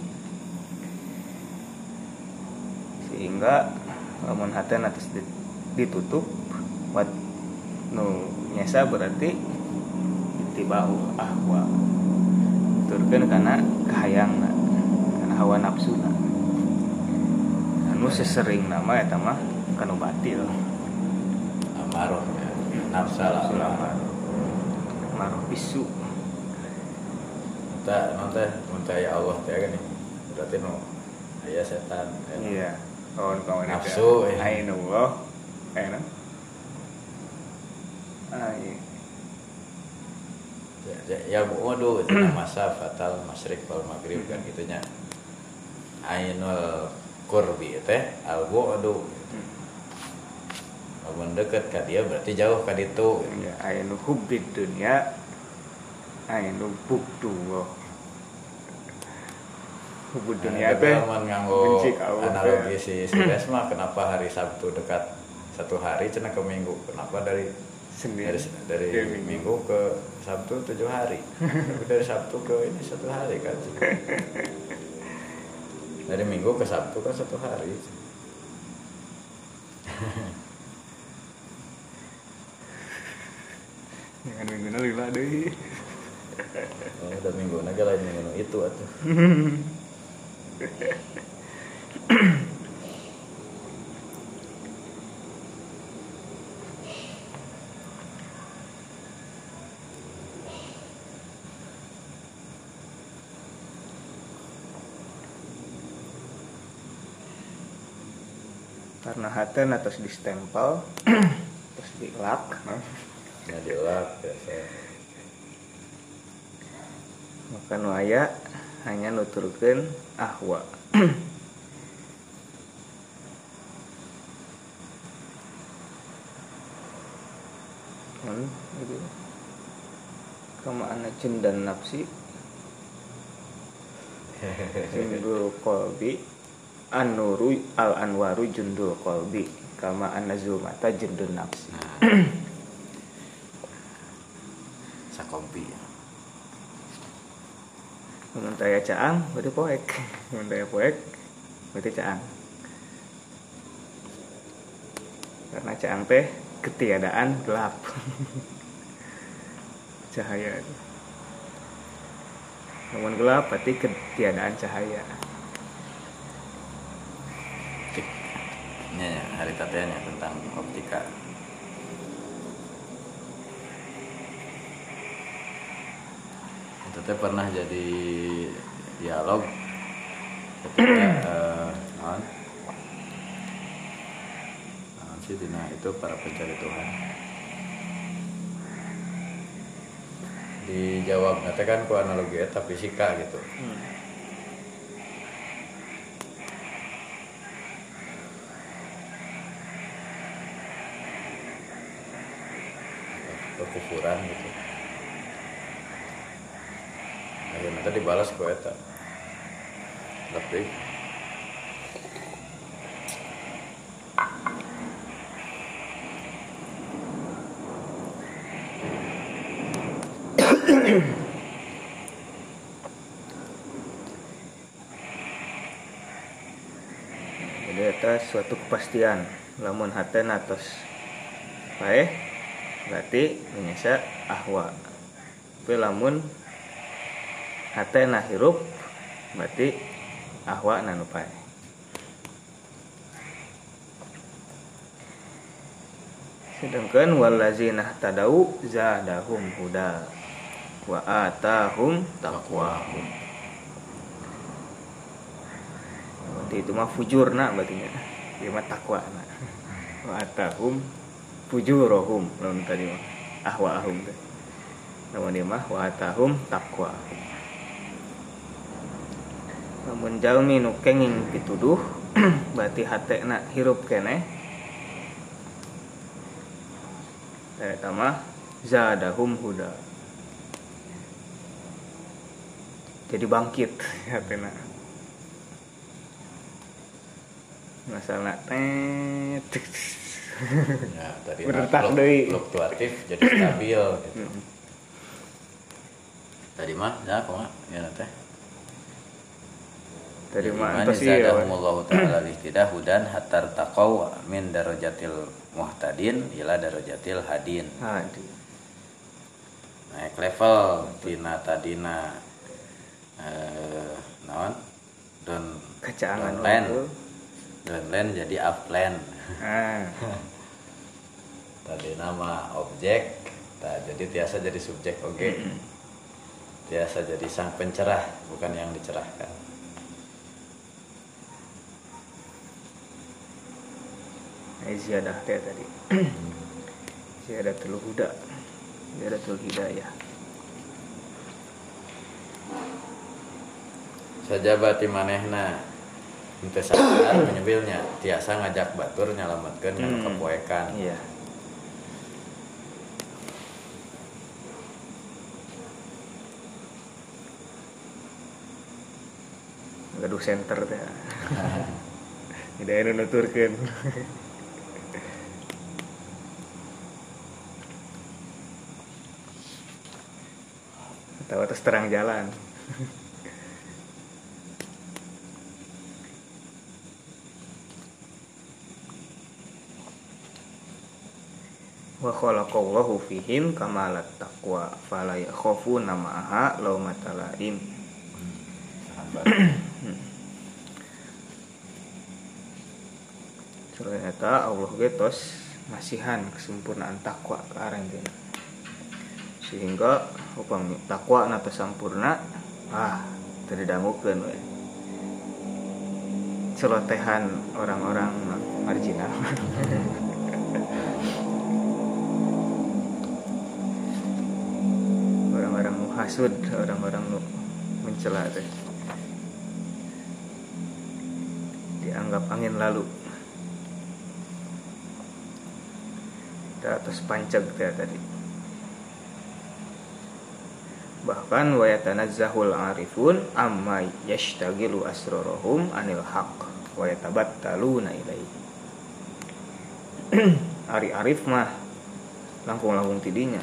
sehingga lamun hatena terus ditutup wat nu nyesa berarti tibau ahwa turkeun kana kahayangna kana hawa nafsuna anu sesering nama eta mah kanu batil amarah ya. Nafsa lah amarah bisu tak nanti nanti ya Allah teh gini berarti nu aya setan iya kawan-kawan nafsu ainullah enak ai ya ya waduh itu masa fatal masyrik wal maghrib kan gitunya ainul qurbi teh al bu'du lamun deket ka dia berarti jauh ka ditu ya ainu hubbid dunya ainu buktu hubbud dunya teh nganggo analogi si Sides mah kenapa hari Sabtu dekat satu hari cenah ke Minggu kenapa dari Senin dari, dari minggu. minggu ke Sabtu tujuh hari dari Sabtu ke ini satu hari kan dari Minggu ke Sabtu kan satu hari jangan minggu na lila deh oh, udah minggu naga lain minggu itu atuh karena haten atas distempel terus dilak nah dilak biasa maka nu aya hanya nuturkeun ahwa kan gitu kama ana cendan nafsi jundul qalbi an-nuru al-anwaru jundul qalbi kama an-nazumata jundun nafsi sakompi mun taya caang berarti poek mun taya poek berarti caang karena caang teh ketiadaan gelap cahaya namun gelap berarti ketiadaan cahaya ya, hari tatenya tentang optika itu teh pernah jadi dialog ketika uh, non non sih dina itu para pencari Tuhan dijawab nanti kan ku analogi eta fisika gitu hmm. kekufuran gitu akhirnya nanti dibalas ku eta tapi jadi eta suatu kepastian lamun haten atos bae berarti menyesa ahwa tapi lamun hatena hirup berarti ahwa nanu pae sedangkan wallazina tadau zadahum huda wa atahum taqwahum berarti itu mah fujurna berarti nya ieu mah taqwana wa atahum fujurohum lamun tadi mah ahwaahum teh lamun ieu mah wa atahum taqwahum lamun jalmi nu kenging pituduh berarti hatena hirup keneh eta mah zadahum huda jadi bangkit hatena masalah tet ya tadi fluktuatif jadi stabil gitu. tadi mah ya kok ya teh tadi mah antos ieu Allah taala ihtidah hudan hatar taqaw min darajatil muhtadin ila darajatil hadin. Hadi. Naik level tina tadina eh naon? Don Kacaangan land. Don land jadi upland. Ah. Tadi nama objek, tak jadi tiasa jadi subjek oke. Okay. Tiasa jadi sang pencerah, bukan yang dicerahkan. Ziyadah teh tadi. Ziyadatul huda. Ziyadatul hidayah. Sajabati manehna henteu sadar menyebilnya tiasa ngajak batur nyalametkeun kana Hmm. kepoekan. Iya. Gaduh center teh. Hidayah nuturkeun. Tahu atas terang jalan. Wa khalaqallahu fihim kamalat taqwa fala yakhafuna ma'aha laumata laim. Ternyata Allah ge tos masihan kesempurnaan takwa ke arah teh. Sehingga upami takwa na teu sampurna, ah teu didangukeun we. Celotehan orang-orang marginal. Orang-orang nu hasud, orang-orang nu mencela teh. Dianggap angin lalu. Di atas panceg teh tadi. Bahkan wa yatanazzahul arifun amma yashtagilu asrarahum anil haqq wa yatabattaluna ilaihi. Ari arif mah langkung-langkung tidinya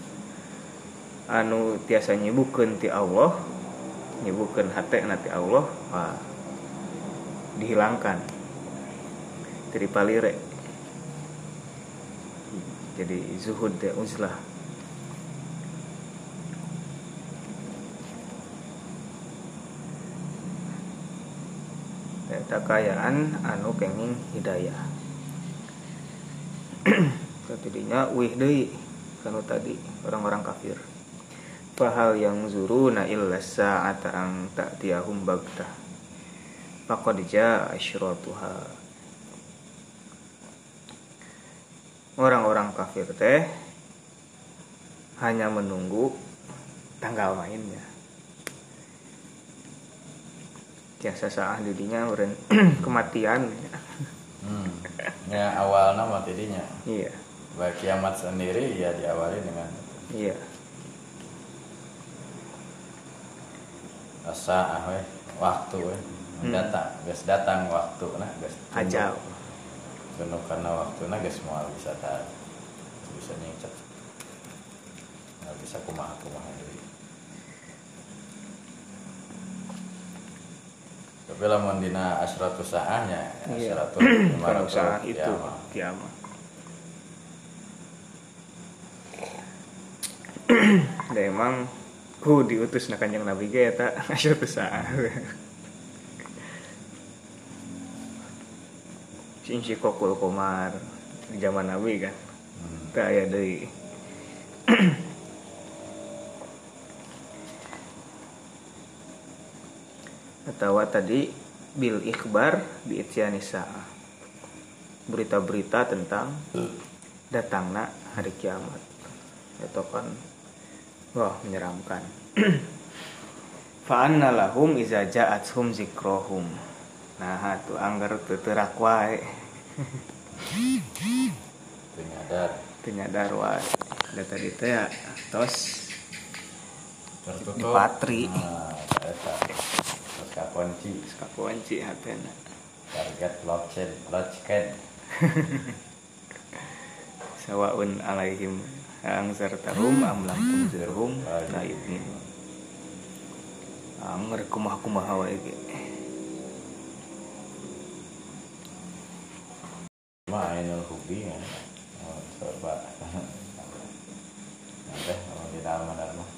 anu tiasa nyibukeun ti Allah, nyibukeun hatena ti Allah, wah dihilangkan dari palire. Jadi zuhud teh uzlah. Kekayaan anu kenging hidayah. Tadinya wih deui kanu tadi orang-orang kafir. Fahal yang zuruna illa sa'ata ang ta'tiyahum bagtah. Faqad jaa asyratuha. Orang-orang kafir teh hanya menunggu tanggal mainnya. Tiasa saah didinya uren kematian. Hmm. Ya awalnya mati dinya. Iya. Baik kiamat sendiri ya diawali dengan Iya. asa ah we waktu we Hmm. datang, geus datang waktu nah geus Ajal. Penuh karena waktu nah geus moal bisa ta bisa nyingcet. Nggak bisa kumaha-kumaha deui. Tapi lamun dina asratus saahnya, Iya. asratus Kalau saat itu kiamat. kiamat. Da emang ku diutus na Kanjeng Nabi ge eta asratus saah. Sing si kokul komar di zaman Nabi kan. Hmm. Teu aya deui. Atau tadi bil ikhbar bi ityani saah. Berita-berita tentang datangna hari kiamat. Itu kan wah menyeramkan. Fa anna lahum iza ja'athum zikrohum. Nah, tu anggar teu teurak wae. Teu nyadar Teu nyadar wae. Da tadi teh ya tos tertutup. dipatri. Nah, eta. Terus kakunci Kakunci hatena. target blockchain, blockchain. Sawaun alaihim ang sartahum am lam tunzirhum la yu'minun. anger kumaha-kumaha wae ge. Ma ainul hubi kan. Oh, coba. Nanti kalau di dalam benar mah.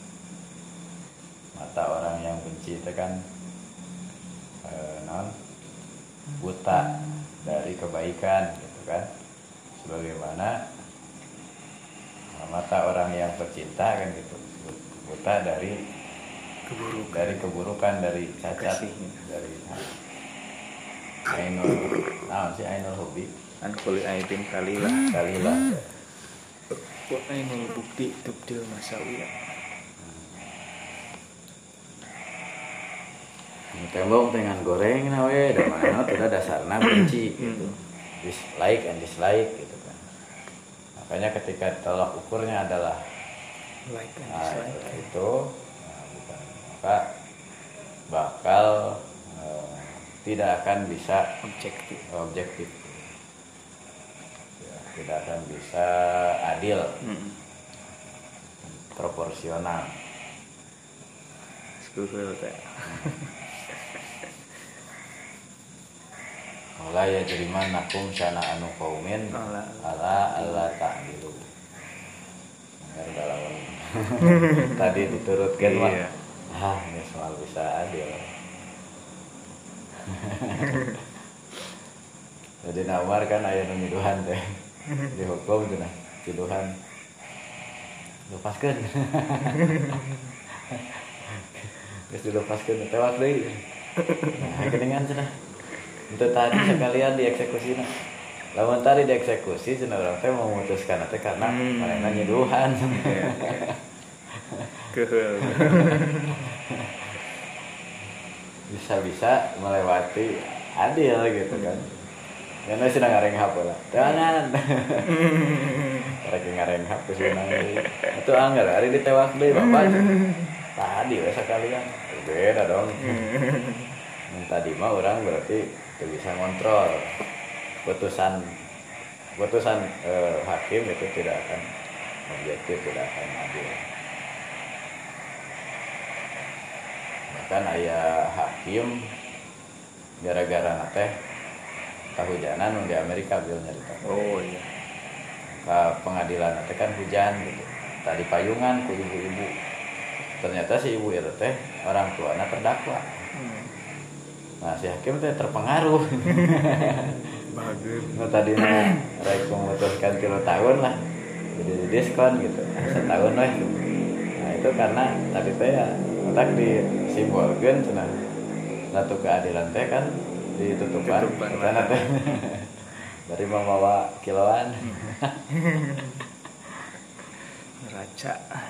Mata orang yang benci itu kan eh, non buta dari kebaikan gitu kan. Sebagaimana mata orang yang pecinta kan gitu. Buta dari keburukan, dari keburukan, dari cacat, dari ainul, nah si ainul hobi, an kuli aidin kalilah, kalilah, wa ainul bukti tubdil masawiya. Tembok dengan goreng nawe, dan mana sudah dasarnya benci gitu, dislike and dislike gitu kan. Makanya ketika tolak ukurnya adalah like and nah, dislike itu, nah, bukan, maka bakal eh, tidak akan bisa objektif, objektif, ya, tidak akan bisa adil, hmm. proporsional. Setuju teh. Mulai ya jadi mana kum sana anu kaumin ala ala ta'dilu. Enggak dalam tadi diturutkan mah. Iya. Ah, ini soal bisa adil. Jadi nawar kan aya nu nyiduhan teh. Dihukum teh nah, nyiduhan. Lepaskeun. Geus dilepaskeun tewak deui. Nah, keningan cenah. Untuk tadi sekalian dieksekusi nah. Lamun tadi dieksekusi cenah urang teh memutuskan teh karena hmm. manehna nyiduhan. Keheul. Bisa-bisa melewati adil gitu kan. Karena sedang ngarenghap lah. Jangan. Rek ngarenghap kesunan deui. Atuh anggar ari ditewak deui Bapak. Tadi we sekalian. Beda dong. Yang tadi mah orang berarti itu bisa ngontrol putusan putusan eh, hakim itu tidak akan objektif, tidak akan adil. Bahkan ayah hakim gara-gara nate kehujanan di Amerika bil nyarita. Oh iya. Ke pengadilan nate kan hujan gitu. Tadi payungan ku ibu-ibu. Ternyata si ibu itu teh orang tuanya terdakwa. Hmm. Nah si hakim teh terpengaruh. Bagus. Nah tadi mah rek memutuskan tiga tahun lah, jadi diskon gitu, setahun lah. Nah itu karena tadi teh ya otak disimbolkan cenah satu keadilan teh kan ditutupan karena teh dari membawa kiloan. Neraca.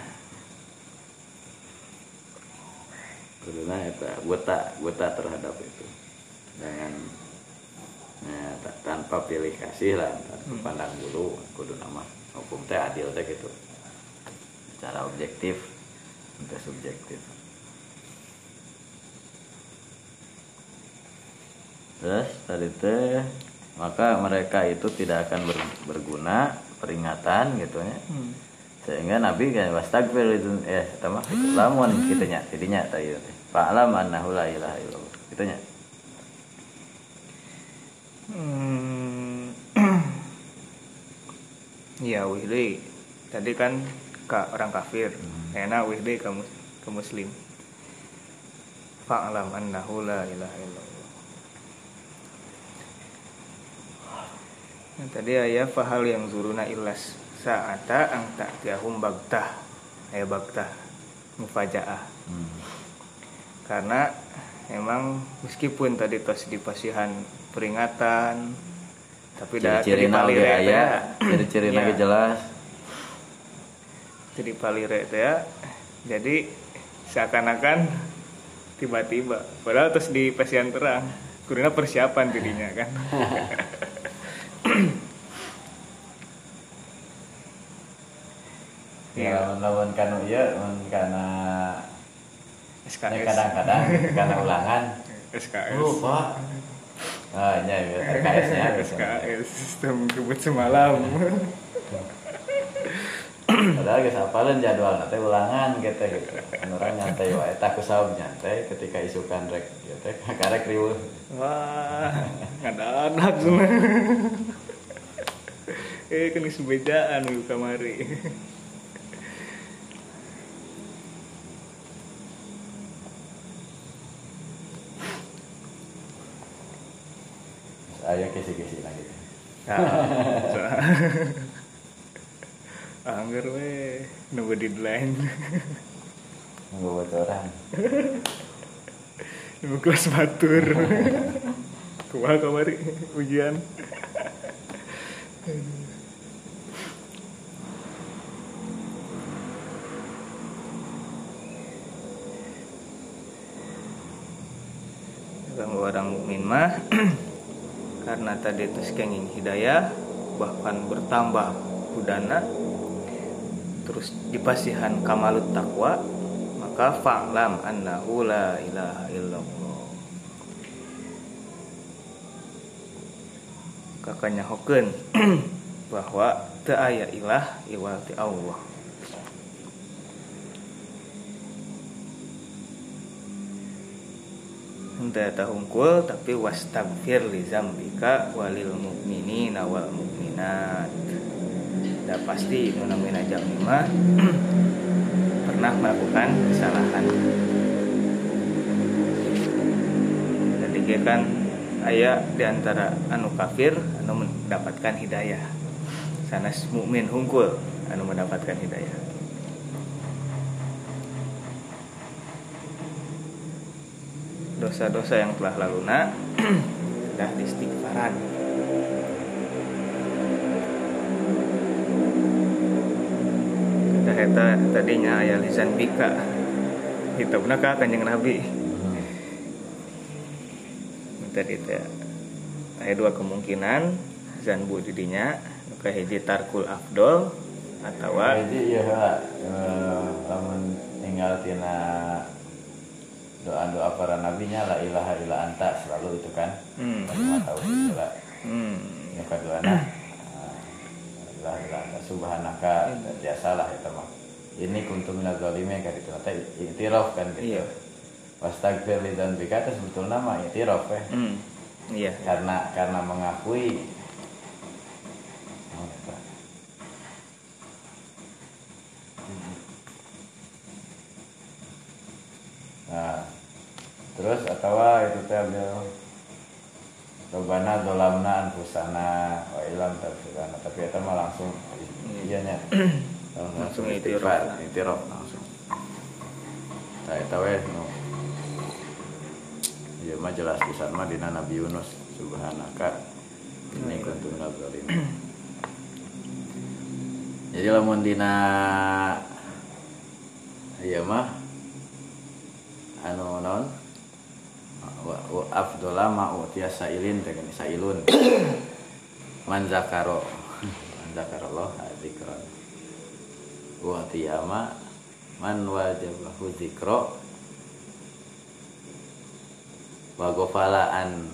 Karena itu buta buta terhadap itu dengan ya, tanpa pilih kasih lah, tanpa pandang dulu kudu nama hukum teh adil teh gitu secara objektif untuk subjektif. Terus tadi teh maka mereka itu tidak akan ber, berguna peringatan gitu ya. Hmm. Sehingga Nabi kan wastagfir itu ya sama gitu. Lamun kitanya tidinya tadi teh fa'lam annahu la ilaha illallah kitanya. Hmm. Ya wihdi tadi kan ka orang kafir, hmm. enak wihdi ke ke muslim. Fa'lam annahu la ilaha illallah. Nah, tadi ayat fahal yang zuruna illas sa'ata ang ta'tiyahum bagtah. Ayat bagtah mufajaah. Hmm. Karena emang meskipun tadi tos di pasihan peringatan tapi dah ciri-ciri palire ya ciri-ciri lagi jelas jadi palire ya jadi seakan-akan tiba-tiba padahal terus di pasihan terang kurina persiapan dirinya kan. Ya lawan kanu ieu mun kana S K S kadang-kadang kana ulangan S K S lupa. Ah, nya R K S-nya S K S sistem kebut semalam. padahal geus hafalan jadwal teh ulangan gitu gitu orang nyantai wae tah kusaha nyantai ketika isukan rek ieu teh karek riweuh wah ngadadak cenah eh kan geus bedaan ieu kamari aya kisi-kisi lagi anggar we nunggu deadline nunggu bocoran nunggu kelas batur kumaha kamari ujian orang orang mukmin mah karena tadi itu kenging hidayah bahkan bertambah budana terus dipasihan kamalut takwa maka fa'lam annahu la ilaha illallah kakanya hokeun bahwa teu aya ilah iwal ti Allah henteu eta hungkul tapi wastagfir li zambika walil mu'minina wal mu'minat. Dah pasti nu namina jami mah pernah melakukan kesalahan. Jadi kan aya di antara anu kafir anu mendapatkan hidayah. Sanes mukmin hungkul anu mendapatkan hidayah. Dosa-dosa yang telah laluna sudah diistighfaran. Dah eta tadinya aya lisan bika. Hitungna ka Kanjeng Nabi. Tadi teh aya dua kemungkinan zanbu didinya nu kahiji tarkul afdol atawa hiji ieu heula lamun tinggal tina doa-doa para nabinya la ilaha illa anta selalu itu kan hmm. cuma tahu itulah hmm. yang kedua nah la ilaha illa anta subhanaka biasalah itu mah ini kuntum minaz zalimin kan itu teh iktiraf kan gitu iya. Wastagfir li dzambika itu sebetulnya mah iktiraf ya hmm. iya karena karena mengakui nah terus atau itu teh beliau Robana dolamna anfusana wa ilam tafsirana tapi itu mah langsung iya nya langsung itiraf itiraf langsung nah itu we no ieu mah jelas pisan mah dina Nabi Yunus subhanaka inni kuntu minaz zalimin. Jadi lamun dina ieu mah anu naon wa, wa afdhala ma utiya sailin dengan sailun man zakaro man zakarallah dzikran wa tiyama man wajabahu dzikra wa gofalaan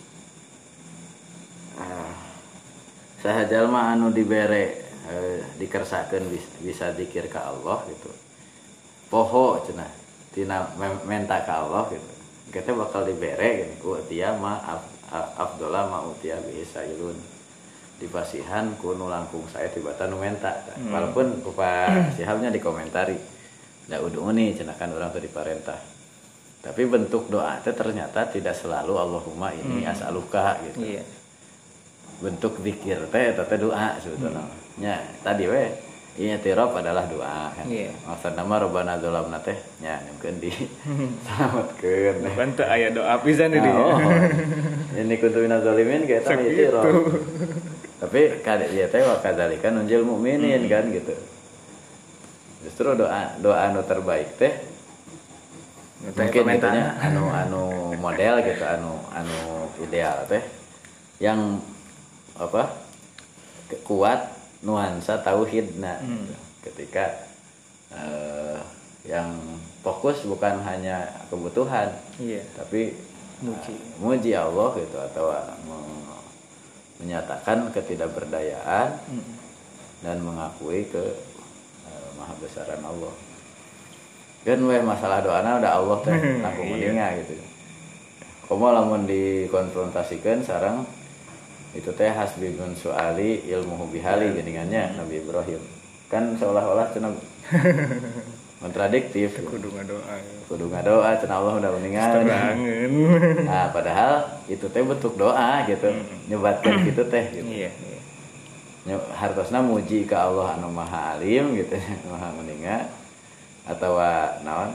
ah, saha jalma anu dibere eh, dikersakeun bisa, bisa zikir ka Allah gitu poho cenah tina menta ka Allah gitu kita bakal dibere gitu utia ma afdola ma utia bi sailun dipasihan ku nu langkung saya tibatan nu menta hmm. walaupun rupa sihabnya dikomentari da uduni cenah kan urang teh diparentah tapi bentuk doa itu ternyata tidak selalu Allahumma ini hmm. as'aluka gitu. Iya. Bentuk zikir teh eta teh doa sebetulnya. Hmm. Nya tadi we i'tiraf adalah doa kan. Iya. Maksudna mah robbana dzalamna teh nya nyungkeun di salametkeun. Bukan teh aya doa pisan di dinya. Oh. Ini kuntu minaz zalimin ge eta i'tiraf. Tapi kada ieu teh wa kadzalika nunjil mukminin hmm. kan gitu. Justru doa doa anu terbaik teh mungkin itunya anu anu model gitu anu anu ideal teh yang apa kuat nuansa tauhidna hmm. ketika uh, yang fokus bukan hanya kebutuhan iya. tapi muji uh, muji Allah gitu atau uh, menyatakan ketidakberdayaan hmm. dan mengakui ke maha besaran Allah. Kan we masalah doana udah Allah teh tanggung meninga gitu. Komo lamun dikonfrontasikan sareng itu teh hasbibun suali ilmuhu bihali geningannya Nabi Ibrahim. Kan seolah-olah cenah kontradiktif. Kudu ngadoa. Kudu ngadoa cenah Allah udah meningan. Nah, padahal itu teh bentuk doa gitu. Nyebatkeun kitu teh gitu. Iya, iya. Hartosna muji ka Allah anu Maha Alim gitu, Maha meninga atau naon?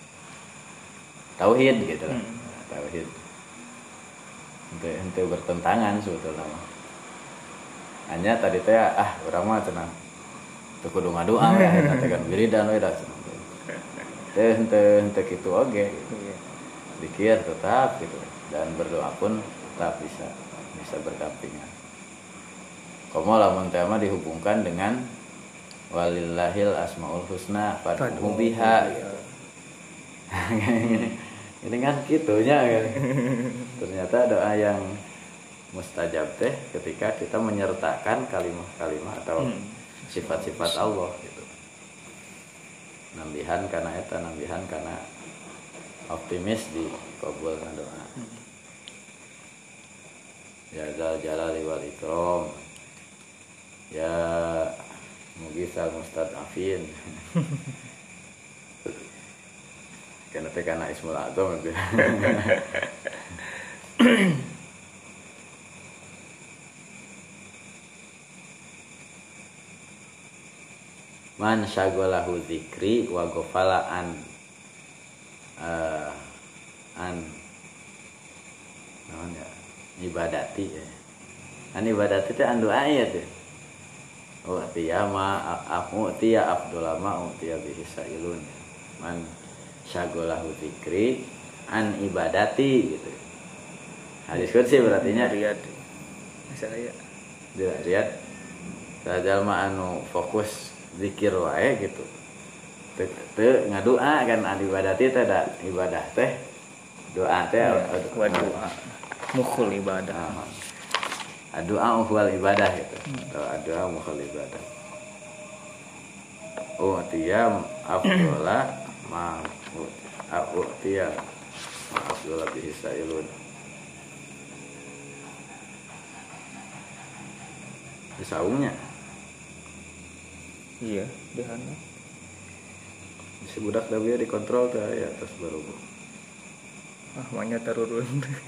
Tauhid gitu lah. Hmm. Tauhid. Henteu henteu bertentangan sebetulnya. Hanya tadi teh ah urang mah cenah teu kudu ngadoa we eta teh kan wiridan we da. Teh henteu henteu kitu oge gitu. Zikir tetap gitu dan berdoa pun tetap bisa bisa berdampingan. Komo lamun teh mah dihubungkan dengan walillahil asmaul husna fad'uhu biha. Ini kan gitunya kan. Ternyata doa yang mustajab teh ketika kita menyertakan kalimat-kalimat atau hmm. sifat-sifat Allah gitu. Nambihan karena eta, nambihan karena optimis di kabulna doa. Hmm. Ya zal jalali wal ikram. Ya mugisal mustadafin. Karena teh kana ismul azam gitu. Man syaghalahu dzikri wa ghafala an uh, an naon ya ibadati ya. An ibadati teh an doa ya teh. Oh tiya ma aku tiya Abdul ma tiya bihi sailun. Man syaghalahu dzikri an ibadati gitu. Hadis qudsi berarti nya riad. Saya riad. Jalma anu fokus zikir wae gitu. Teu teu ngadoa kan an ibadati teh da ibadah teh doa teh wa doa mukhul ibadah. Doa mukhul ibadah gitu. Doa mukhul ibadah. Oh tiya afdola ma aku tiya afdola bihi sailun. Saungnya iya dehana si budak tapi dikontrol teh ya terus baru ah manya tarurun.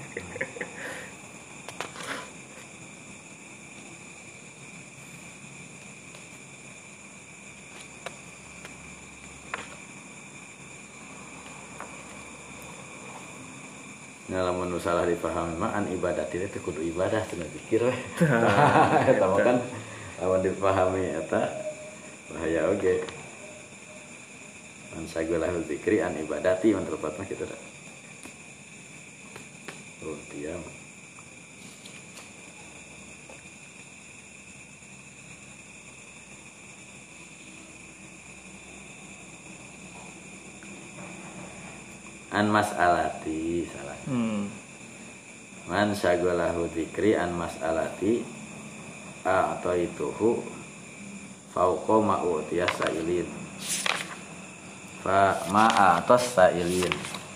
Nah, lamun salah dipahami mah an ibadah itu kudu ibadah cenah pikir we. Eta mah kan lamun dipahami eta bahaya oge. Man syaghalahu dzikri an ibadati mun tepatna kitu da. Oh, diam. An mas'alati salah. Hmm. Man syaghalahu dzikri an mas'alati a atau ituhu fauqa ma'utiya sailin. Fa ma'a atas sailin.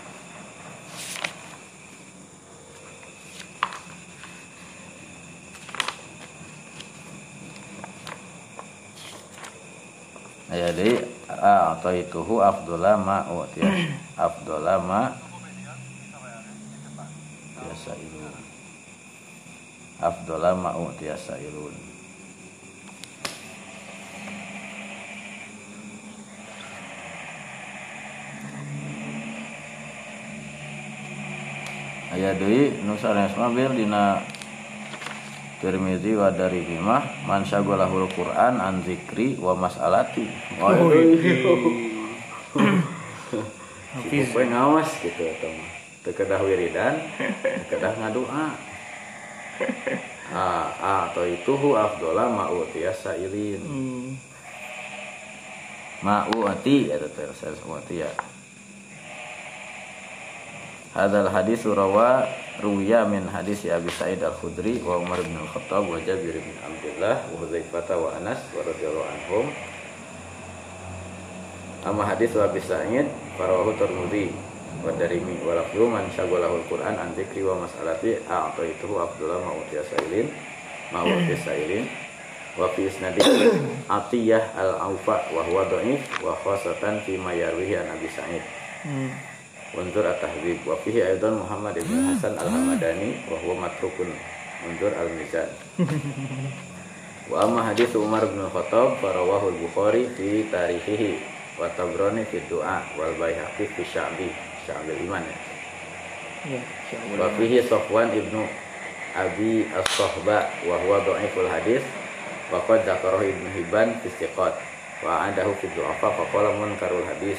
Ya jadi a atau ituhu afdhala ma'utiya afdhala ma yasailun afdhala ma'utiya sailun. Aya deui nu sanesna bir dina Tirmizi wa darihi mah man syaghalahul Qur'an an zikri wa mas'alati. Oh itu poe ngawas gitu atau mah teu kedah wiridan, teu kedah ngadoa. Ah, ah atau itu hu afdhala ma'utiya sailin. Hmm. Ma'uti eta teh saeuti ya. Hadzal hadis rawa ruwiya min hadis Abi Sa'id Al-Khudri wa Umar bin Al-Khattab wa Jabir bin Abdullah wa Hudzaifah wa Anas wa radhiyallahu anhum Amma hadis wa Sa'id farawahu Tirmidzi wa Darimi wa lafzu man syaghalahul Qur'an an dzikri wa mas'alati a'taituhu afdhala ma utiya sa'ilin ma utiya sa'ilin wa fi isnadi Atiyah al-Aufa wa huwa dhaif wa khasatan fi ma yarwihi an Abi Sa'id. Hmm. Unzur at-Tahdzib wa fihi aidan Muhammad ibn Hasan al-Hamadani wa huwa matrukun. Unzur al-Mizan. Wa amma hadis Umar bin Khattab farawahu al-Bukhari fi tarihihi wa Tabrani fi du'a wal Baihaqi fi Sya'bi Sya'bil Iman ya. Ya, wa fihi Safwan ibnu Abi As-Sahba wa huwa dhaiful hadis wa qad dzakarahu Ibnu Hibban fi Thiqat wa adahu fi du'afa fa qala munkarul hadis.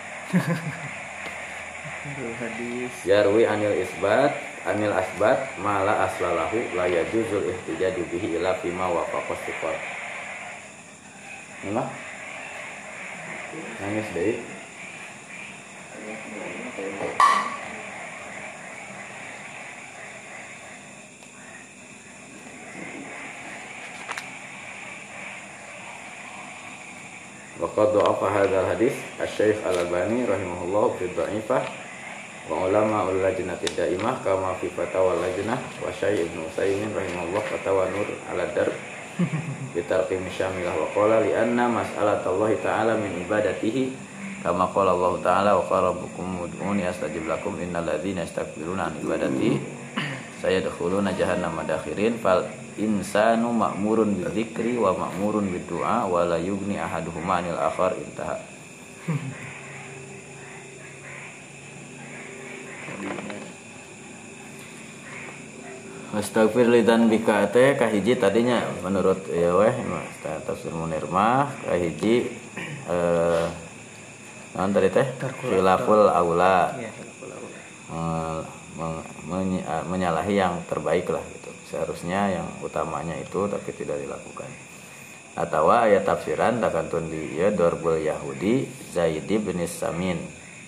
Hadis yarwi anil isbat anil asbat mala aslalahu la yajuzul ihtijaju bihi ila fima wa faqasiqat. Mana? Nangis deui. Wa qad dha'afa hadzal hadis Asy-Syaikh Al-Albani rahimahullah fi dha'ifah wa ulama ul-lajnati daimah kama fi fatawa lajnah wa Syekh Ibnu Utsaimin rahimahullah fatawa Nur al-Dar bi tarqim syamilah wa qala li anna mas'alatallahi ta'ala min ibadatihi kama qala Allah ta'ala wa qarabukum ud'uni astajib lakum innal ladzina yastakbiruna an ibadati sayadkhuluna jahannama dakhirin fal insanu ma'murun bidzikri wa ma'murun biddu'a wa la yughni ahaduhuma 'anil akhar intaha. Astagfir lidan bika teh kahiji tadinya menurut ya weh tafsir Munir mah kahiji eh naon tadi teh khilaful aula menyalahi yang terbaik lah gitu. Seharusnya yang utamanya itu tapi tidak dilakukan. Atau ayat tafsiran takantun di ya darbul Yahudi Zaid bin Samin.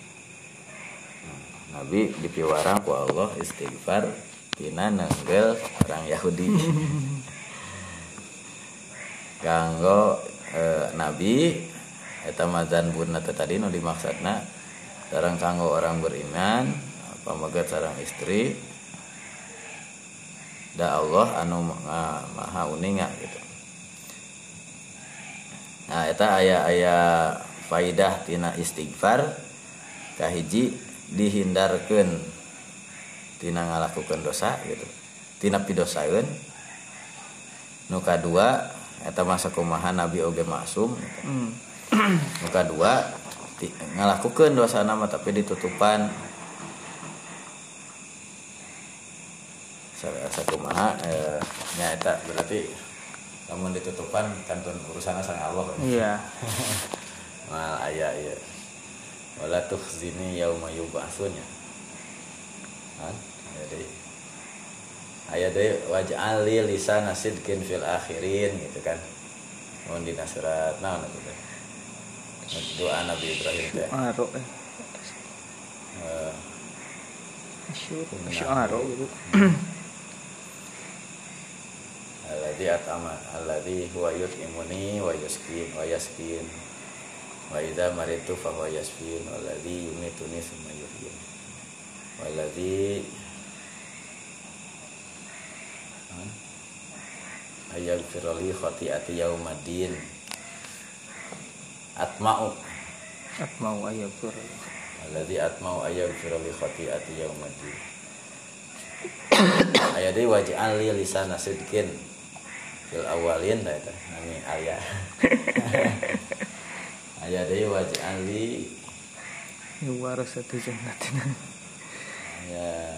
Nabi dipiwarang ku Allah istighfar tina nenggel orang Yahudi. Kanggo e, Nabi eta mazan bunna tadi nu dimaksudna sareng kanggo orang beriman pamegat sareng istri da Allah anu maha uninga gitu. Nah eta aya-aya faidah tina istighfar kahiji dihindarkeun tina ngalakukeun dosa gitu. Tina pidosaeun. Nu kadua eta masa kumaha Nabi oge maksum gitu. Mm. Nu kadua ngalakukeun dosana mah tapi ditutupan sakumaha eh, nya eta berarti lamun ditutupan kantun urusanna sareng Allah. Iya. Mal aya ieu. Wala tukhzini yauma yub'atsun. Kan? Jadi aya deui waj'al li lisana sidqin fil akhirin gitu kan. Mun dina surat naon eta teh? Doa Nabi Ibrahim teh. Aro eh. Eh. Asyur. gitu. Alladzi at'ama alladzi huwa yut'imuni wa yasqin wa yasqin wa idza maritu fa huwa yasqin walladzi yumituni summa yuhyin walladzi ayaghfiru li khati'ati yaumiddin atma'u atma'u ayaghfiru alladzi atma'u ayaghfiru li khati'ati yaumiddin aya deui waj'al li lisana sidqin fil awalin da eta nami aya aya deui waj'al li warasatu jannatin ya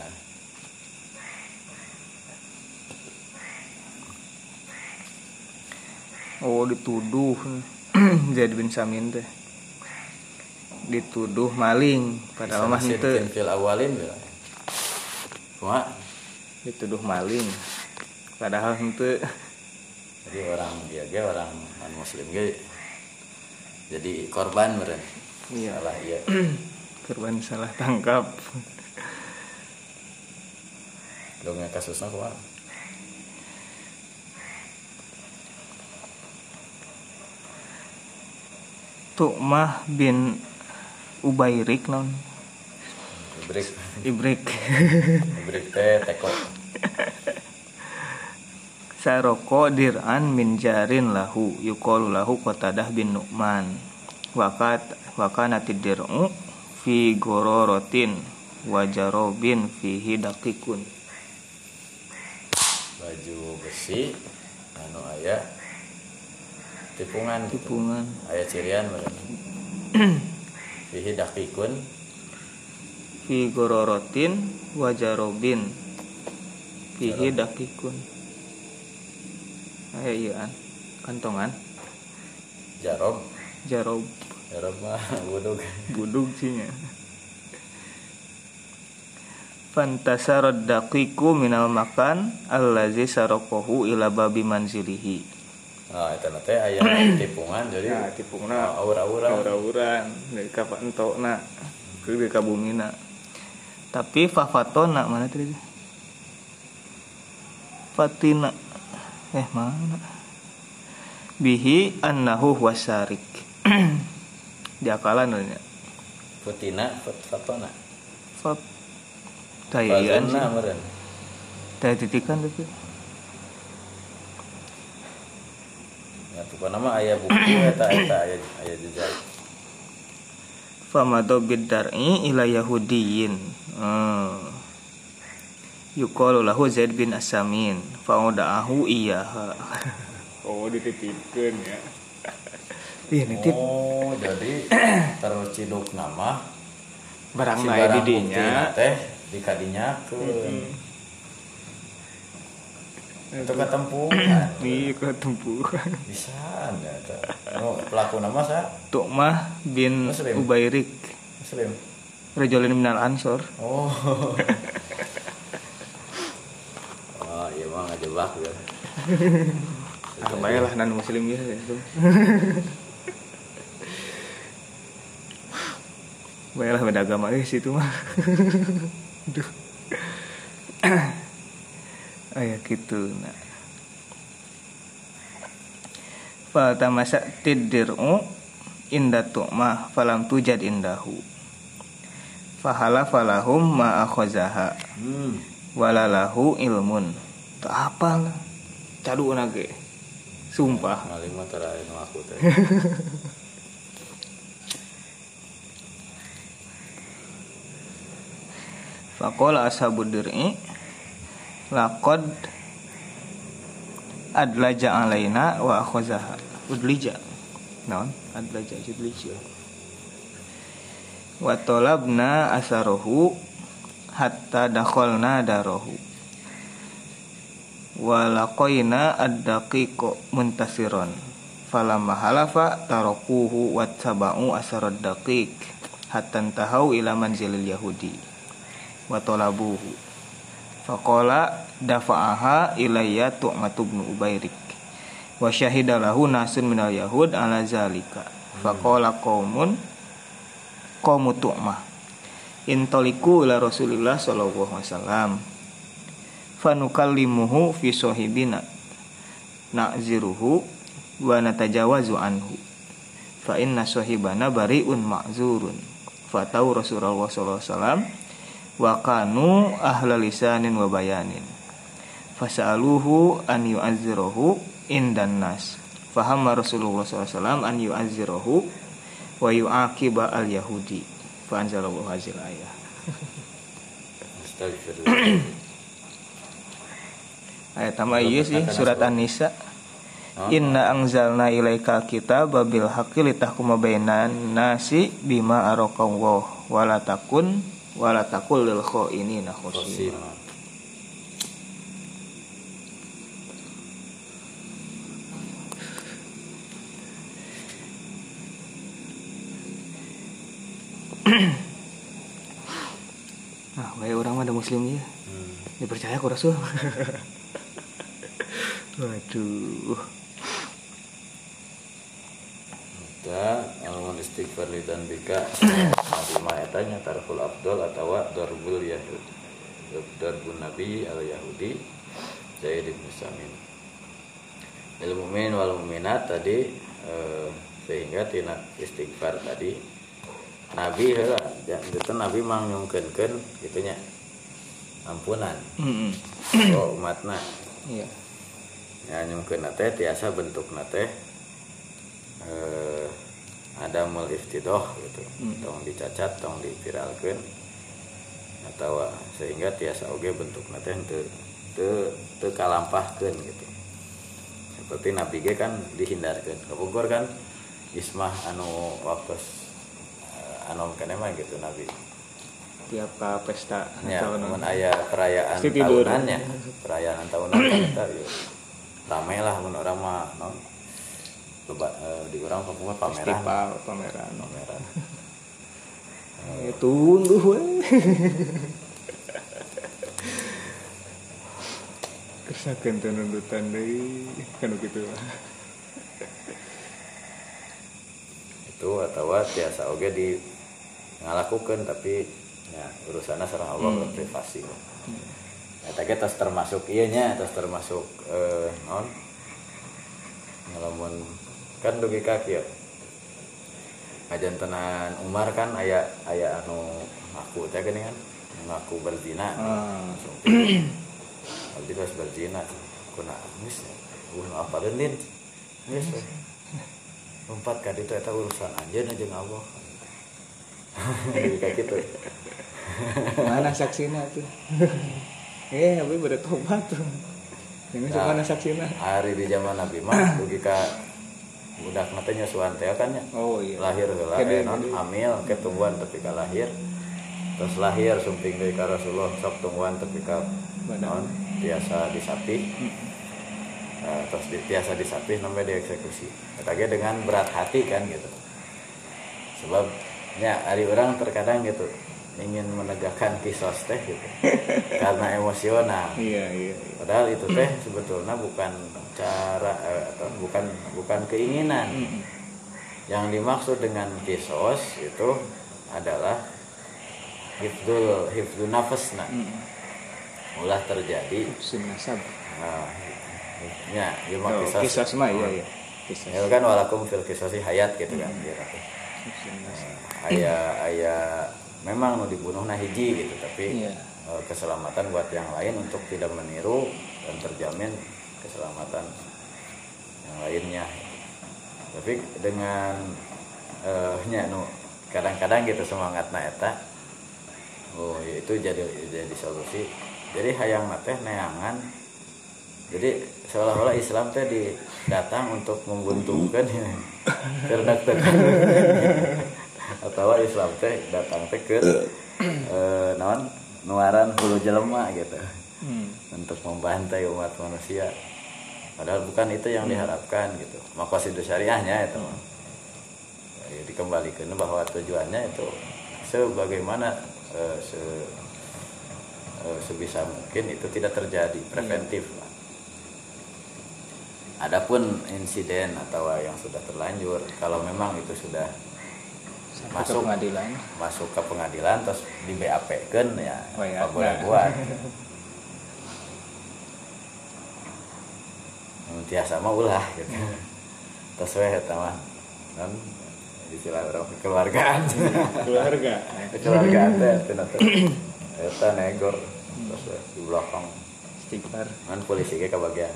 oh dituduh Zaid bin Samin teh dituduh maling padahal mah henteu fil awalin kumaha dituduh maling padahal henteu. Jadi orang dia ge orang non muslim ge jadi korban meureun. Iya. Salah ieu. Korban salah tangkap. Dongnya kasusna kumaha? Tu'mah bin Ubairik non Ibrik. Ibrik Ibrik teh teko. Saroko dir'an min jarin lahu yuqalu lahu Qatadah bin Nu'man wakat wakanatid dir'u fi gororotin wa jarobin fihi daqiqun. Baju besi anu aya tipungan gitu. Tipungan Aya cirian berarti. Fihi daqiqun fi gororotin wa jarobin fihi daqiqun. Aya ieu an kantongan jarob. jarob Jarob mah budug. budug cinya. Fantasarad daqiqu minal makan allazi saraqahu ila babi manzilihi. Nah, eta teh aya tipungan jadi Nah, tipungna aura-aura. aura-auran dari ka entokna ke di ka bumina. Tapi fafatona mana tadi? Fatina. Eh mana? Bihi annahu wasarik. Diakalan nya. Futina, fatona. Fat Tayan sih. Fazanna meureun. Taya titikan tapi. Ya pokona mah aya buku eta eta aya aya jejak. Famado biddar'i ila yahudiyin. Hmm. Yuqalu lahu Zaid bin Asamin fa'uda'ahu iyaha. Oh, dititipkeun ya. Ih, nitip. Oh, jadi terciduk nama Barang si lain barang di buktina dinya. teh dikadinyakeun. Itu ketempuhan. Nih ketempuhan. Bisa nya eta. Oh, pelaku nama sa Tu'mah bin Muslim. Ubairik. Muslim. Rajulun minal Ansor. Oh. Oh, iya mah ngajebak ya. Ah, baiklah nan muslim ya itu. Baiklah beda agama eh situ mah. Aduh. Aya kitu nah. Fa tamasa tiddiru inda tu'mah falam tujad indahu. Fahala falahum ma akhazaha. Hmm. Walalahu ilmun. Tak apa lah. Cadu nage. Sumpah. Maling mah tara anu aku teh. Faqala ashabud dir'i laqad adlaja alaina wa akhazaha. Udlija. Naon? Adlaja udlija. Wa talabna asarohu hatta dakhalna darahu. Wa laqaina ad-daqiqu muntasiron. Falamma halafa tarakuhu wa tabau asarad daqiq hatta tahau ila manzilil yahudi. Wa talabuhu faqala dafa'aha ilayya Tu'matu bin Ubairik wa syahida lahu nasun minal yahud ala zalika faqala qaumun qaumu Tu'mah intaliku ila Rasulillah sallallahu alaihi wasallam fanukallimuhu fi sahibina na'ziruhu wa natajawazu anhu fa inna sahibana bari'un ma'zurun fatau Rasulullah sallallahu alaihi wasallam wa kanu ahla lisanin wa bayanin fasa'aluhu an yu'azzirahu indan nas fahamma Rasulullah sallallahu alaihi wasallam an yu'azzirahu wa yu'aqiba al yahudi fa anzalallahu hazil ayah. Astagfirullah. Ayat tambah ieu sih surat An-Nisa. Inna anzalna ilaika kitaba bil haqqi litahkuma bainan nasi bima araqallahu wa la takun wala takul lil khainina khosima. Nah, baik orang mah ada muslim ya. Hmm. Dipercaya ku Rasul. Waduh. Da alamun istighfar lidan bika nabi ma etanya tarful afdal atawa darbul yahud darbun nabi al yahudi Zaid bin Samin. Al mu'min wal mu'minat tadi eh, sehingga tina istighfar tadi Nabi heula ya gitu Nabi mang nyungkeunkeun kitu nya ampunan Heeh. oh umatna Iya. ya nyungkeun teh tiasa bentukna teh eh ada mul iftidoh gitu Hmm. tong dicacat tong dipiralkeun atau sehingga tiasa oge bentukna teh teu teu teu kalampahkeun gitu seperti Nabi ge kan dihindarkeun kabogor kan ismah anu waktos anu keneh mah gitu Nabi Tiap ka pesta ya atau mun naon. aya perayaan Pasti tidur. tahunannya perayaan tahunan kan eta yeuh rame lah mun urang mah naon loba eh, di urang pokoknya pameran Festival pameran. pameran Eh, tunggu we. Kesakeun teu nundutan deui kana kitu. itu atau tiasa oge di ngalakukeun tapi ya urusanna sareng Allah Hmm. privasi. Eta ge tos termasuk ieu nya, tos termasuk eh naon? Ngalamun kan dugi ka kieu. Ngajantenan Umar kan aya aya anu ngaku teh geuning kan, ngaku berzina. Ah. Abdi tos berzina. Kuna geus uh apa deun geus lompat ka ditu eta urusan anjeun jeung Allah. Jadi kayak gitu. Mana saksina tuh? Eh, tapi pada tobat tuh. Ini Nah, mana saksina? Hari di zaman Nabi mah dugi ka budak teh nyusuan teh kan nya. Oh iya. Lahir heula Kede- eh, non kede. hamil ketumbuhan tapi ka lahir. Terus lahir sumping deui ka Rasulullah sok tungguan tapi ka Badan. non biasa disapih. Nah, terus di, biasa disapih sampai dieksekusi. Eta ge dengan berat hati kan gitu. Sebab ya hari orang terkadang gitu ingin menegakkan kisos teh gitu karena emosional. Iya, iya, iya. Padahal itu teh sebetulnya bukan cara eh, atau bukan bukan keinginan. Mm-mm. Yang dimaksud dengan kisos itu adalah hifdzul hifdzul nafasna. Mm-mm. Ulah terjadi Sin nasab. nah, ya ilmu Oh, kisos. kisah mah iya, iya. Kisah. Ya kan walakum fil kisosi hayat gitu kan. Gitu. Sin nasab. Aya aya memang nu dibunuh nah hiji gitu tapi Iya. e, keselamatan buat yang lain untuk tidak meniru dan terjamin keselamatan yang lainnya. Tapi dengan eh nya nu kadang-kadang gitu semangatna eta oh ya itu jadi jadi solusi. Jadi hayang teh neangan. Jadi seolah-olah Islam teh didatang untuk membuntungkan karena tekan atau Islam teh datang teh ke eh, naon nuaran hulu jelema gitu Hmm. untuk membantai umat manusia padahal bukan itu yang diharapkan gitu maqasid syariahnya itu ya, dikembalikan bahwa tujuannya itu sebagaimana eh, se, eh, sebisa mungkin itu tidak terjadi preventif lah. Adapun insiden atau yang sudah terlanjur kalau memang itu sudah Sampai masuk ke pengadilan. masuk ke pengadilan terus di B A P-keun ya Oh, ya. apa boleh buat tiasa mah ulah gitu terus we eta mah non istilah orang kekeluargaan Keluarga. kekeluargaan teh cenah teh eta negor terus we di belakang Istighfar. kan polisi ge kabagian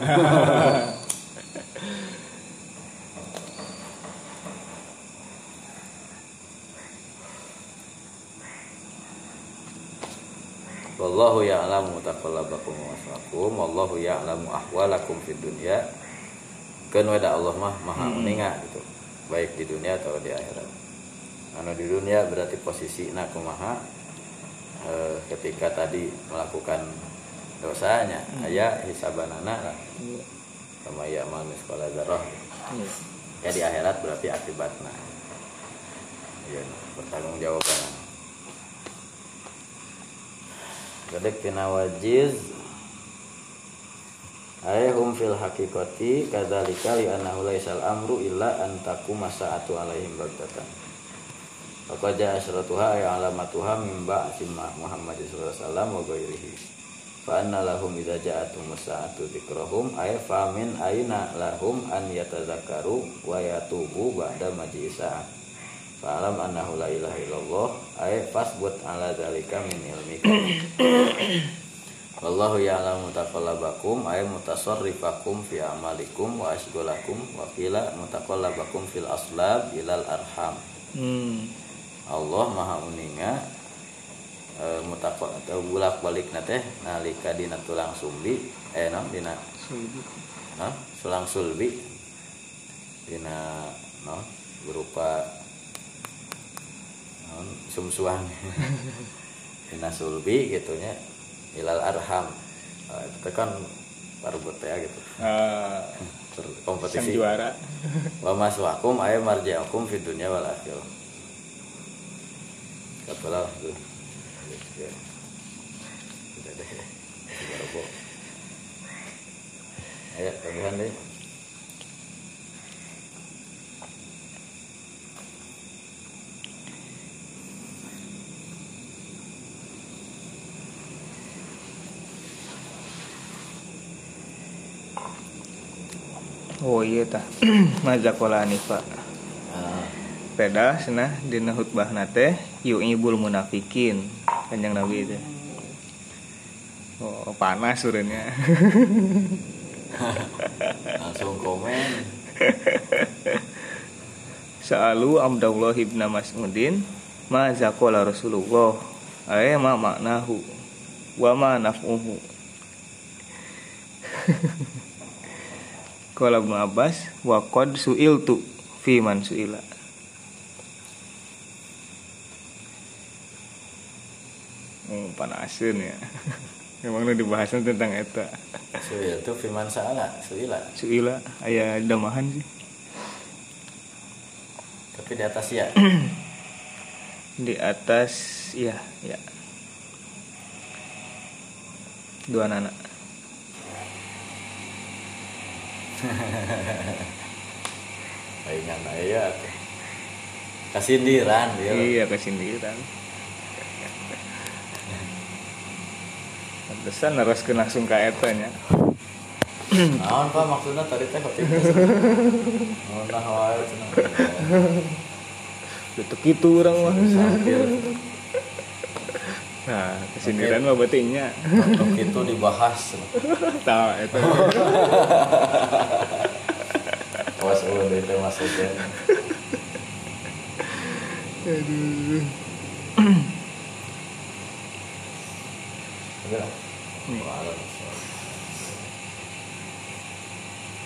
wallahu ya'lamu taqallabakum wa maswaakum wallahu ya'lamu ahwalakum fid dunya kan wada Allah mah maha meninga gitu baik di dunia atau di akhirat. Anu di dunia berarti posisinya kumaha e, ketika tadi melakukan dosanya aya hisabanana lah Iya. sama ya amal miskola dzarrah. Iya. Ya di akhirat berarti akibatna. Ya bertanggung jawaban. Gadek tina wajiz ayhum fil haqiqati kadzalika li annahu laisal amru illa an taquma sa'atu alaihim baghtatan. Faqad ja'a asyratuha ay alamatuha min ba'si Muhammad sallallahu alaihi wasallam wa ghairihi. fa anna lahum idza ja'atumus sa'atu dzikrahum ay fa min aina lahum an yatadzakkaru wa yatubu ba'da majisa fa alam annahu la ilaha illallah ay fasbut ala dzalika min ilmika wallahu ya'lamu taqallabakum ay mutasarrifakum fi amalikum wa asghalakum wa qila mutaqallabakum fil aslab ilal arham. hmm. Allah maha uninga E, mutakwa atau bulak balik nate nalika dina tulang sumbi eh no dina sulbi no tulang sulbi dina no berupa no, sumsuang dina sulbi gitunya ilal arham uh, itu kan parbut ya gitu uh, kompetisi juara wa maswakum ay marji'akum fid dunya wal akhirah katalah tuh ya. Sudah deh. Sudah kok. Ayo, tambahan deh. Oh iya tah. Mazakola Hanifa. Ah. Peda cenah dina khutbah nate yu'ibul munafikin. Kanjeng Nabi itu. Oh, panas urenya. Langsung komen. Sa'alu Abdullah ibn Mas'udin ma zaqala Rasulullah ay ma maknahu wa ma naf'uhu. Qala Ibnu Abbas wa qad su'iltu fi man su'ila. Oh, panasin ya. Memang udah dibahasan tentang eta. Suil itu firman saala, suila. Suila aya damahan sih. Tapi di atas ya. Di atas ya, ya. Dua anak. Ingat aya tuh. Kasindiran dia. Iya, kasindiran. Pantesan neraskeun langsung ka eta nya. Naon Pak maksudna tadi teh khotib. Naon nah wae cenah. Betul kitu urang mah. Nah, kesindiran mah berarti nya. Untuk itu dibahas. Tah eta. Was eueuh deui teh maksudnya. Aduh. Udah. Waalaikumsalam.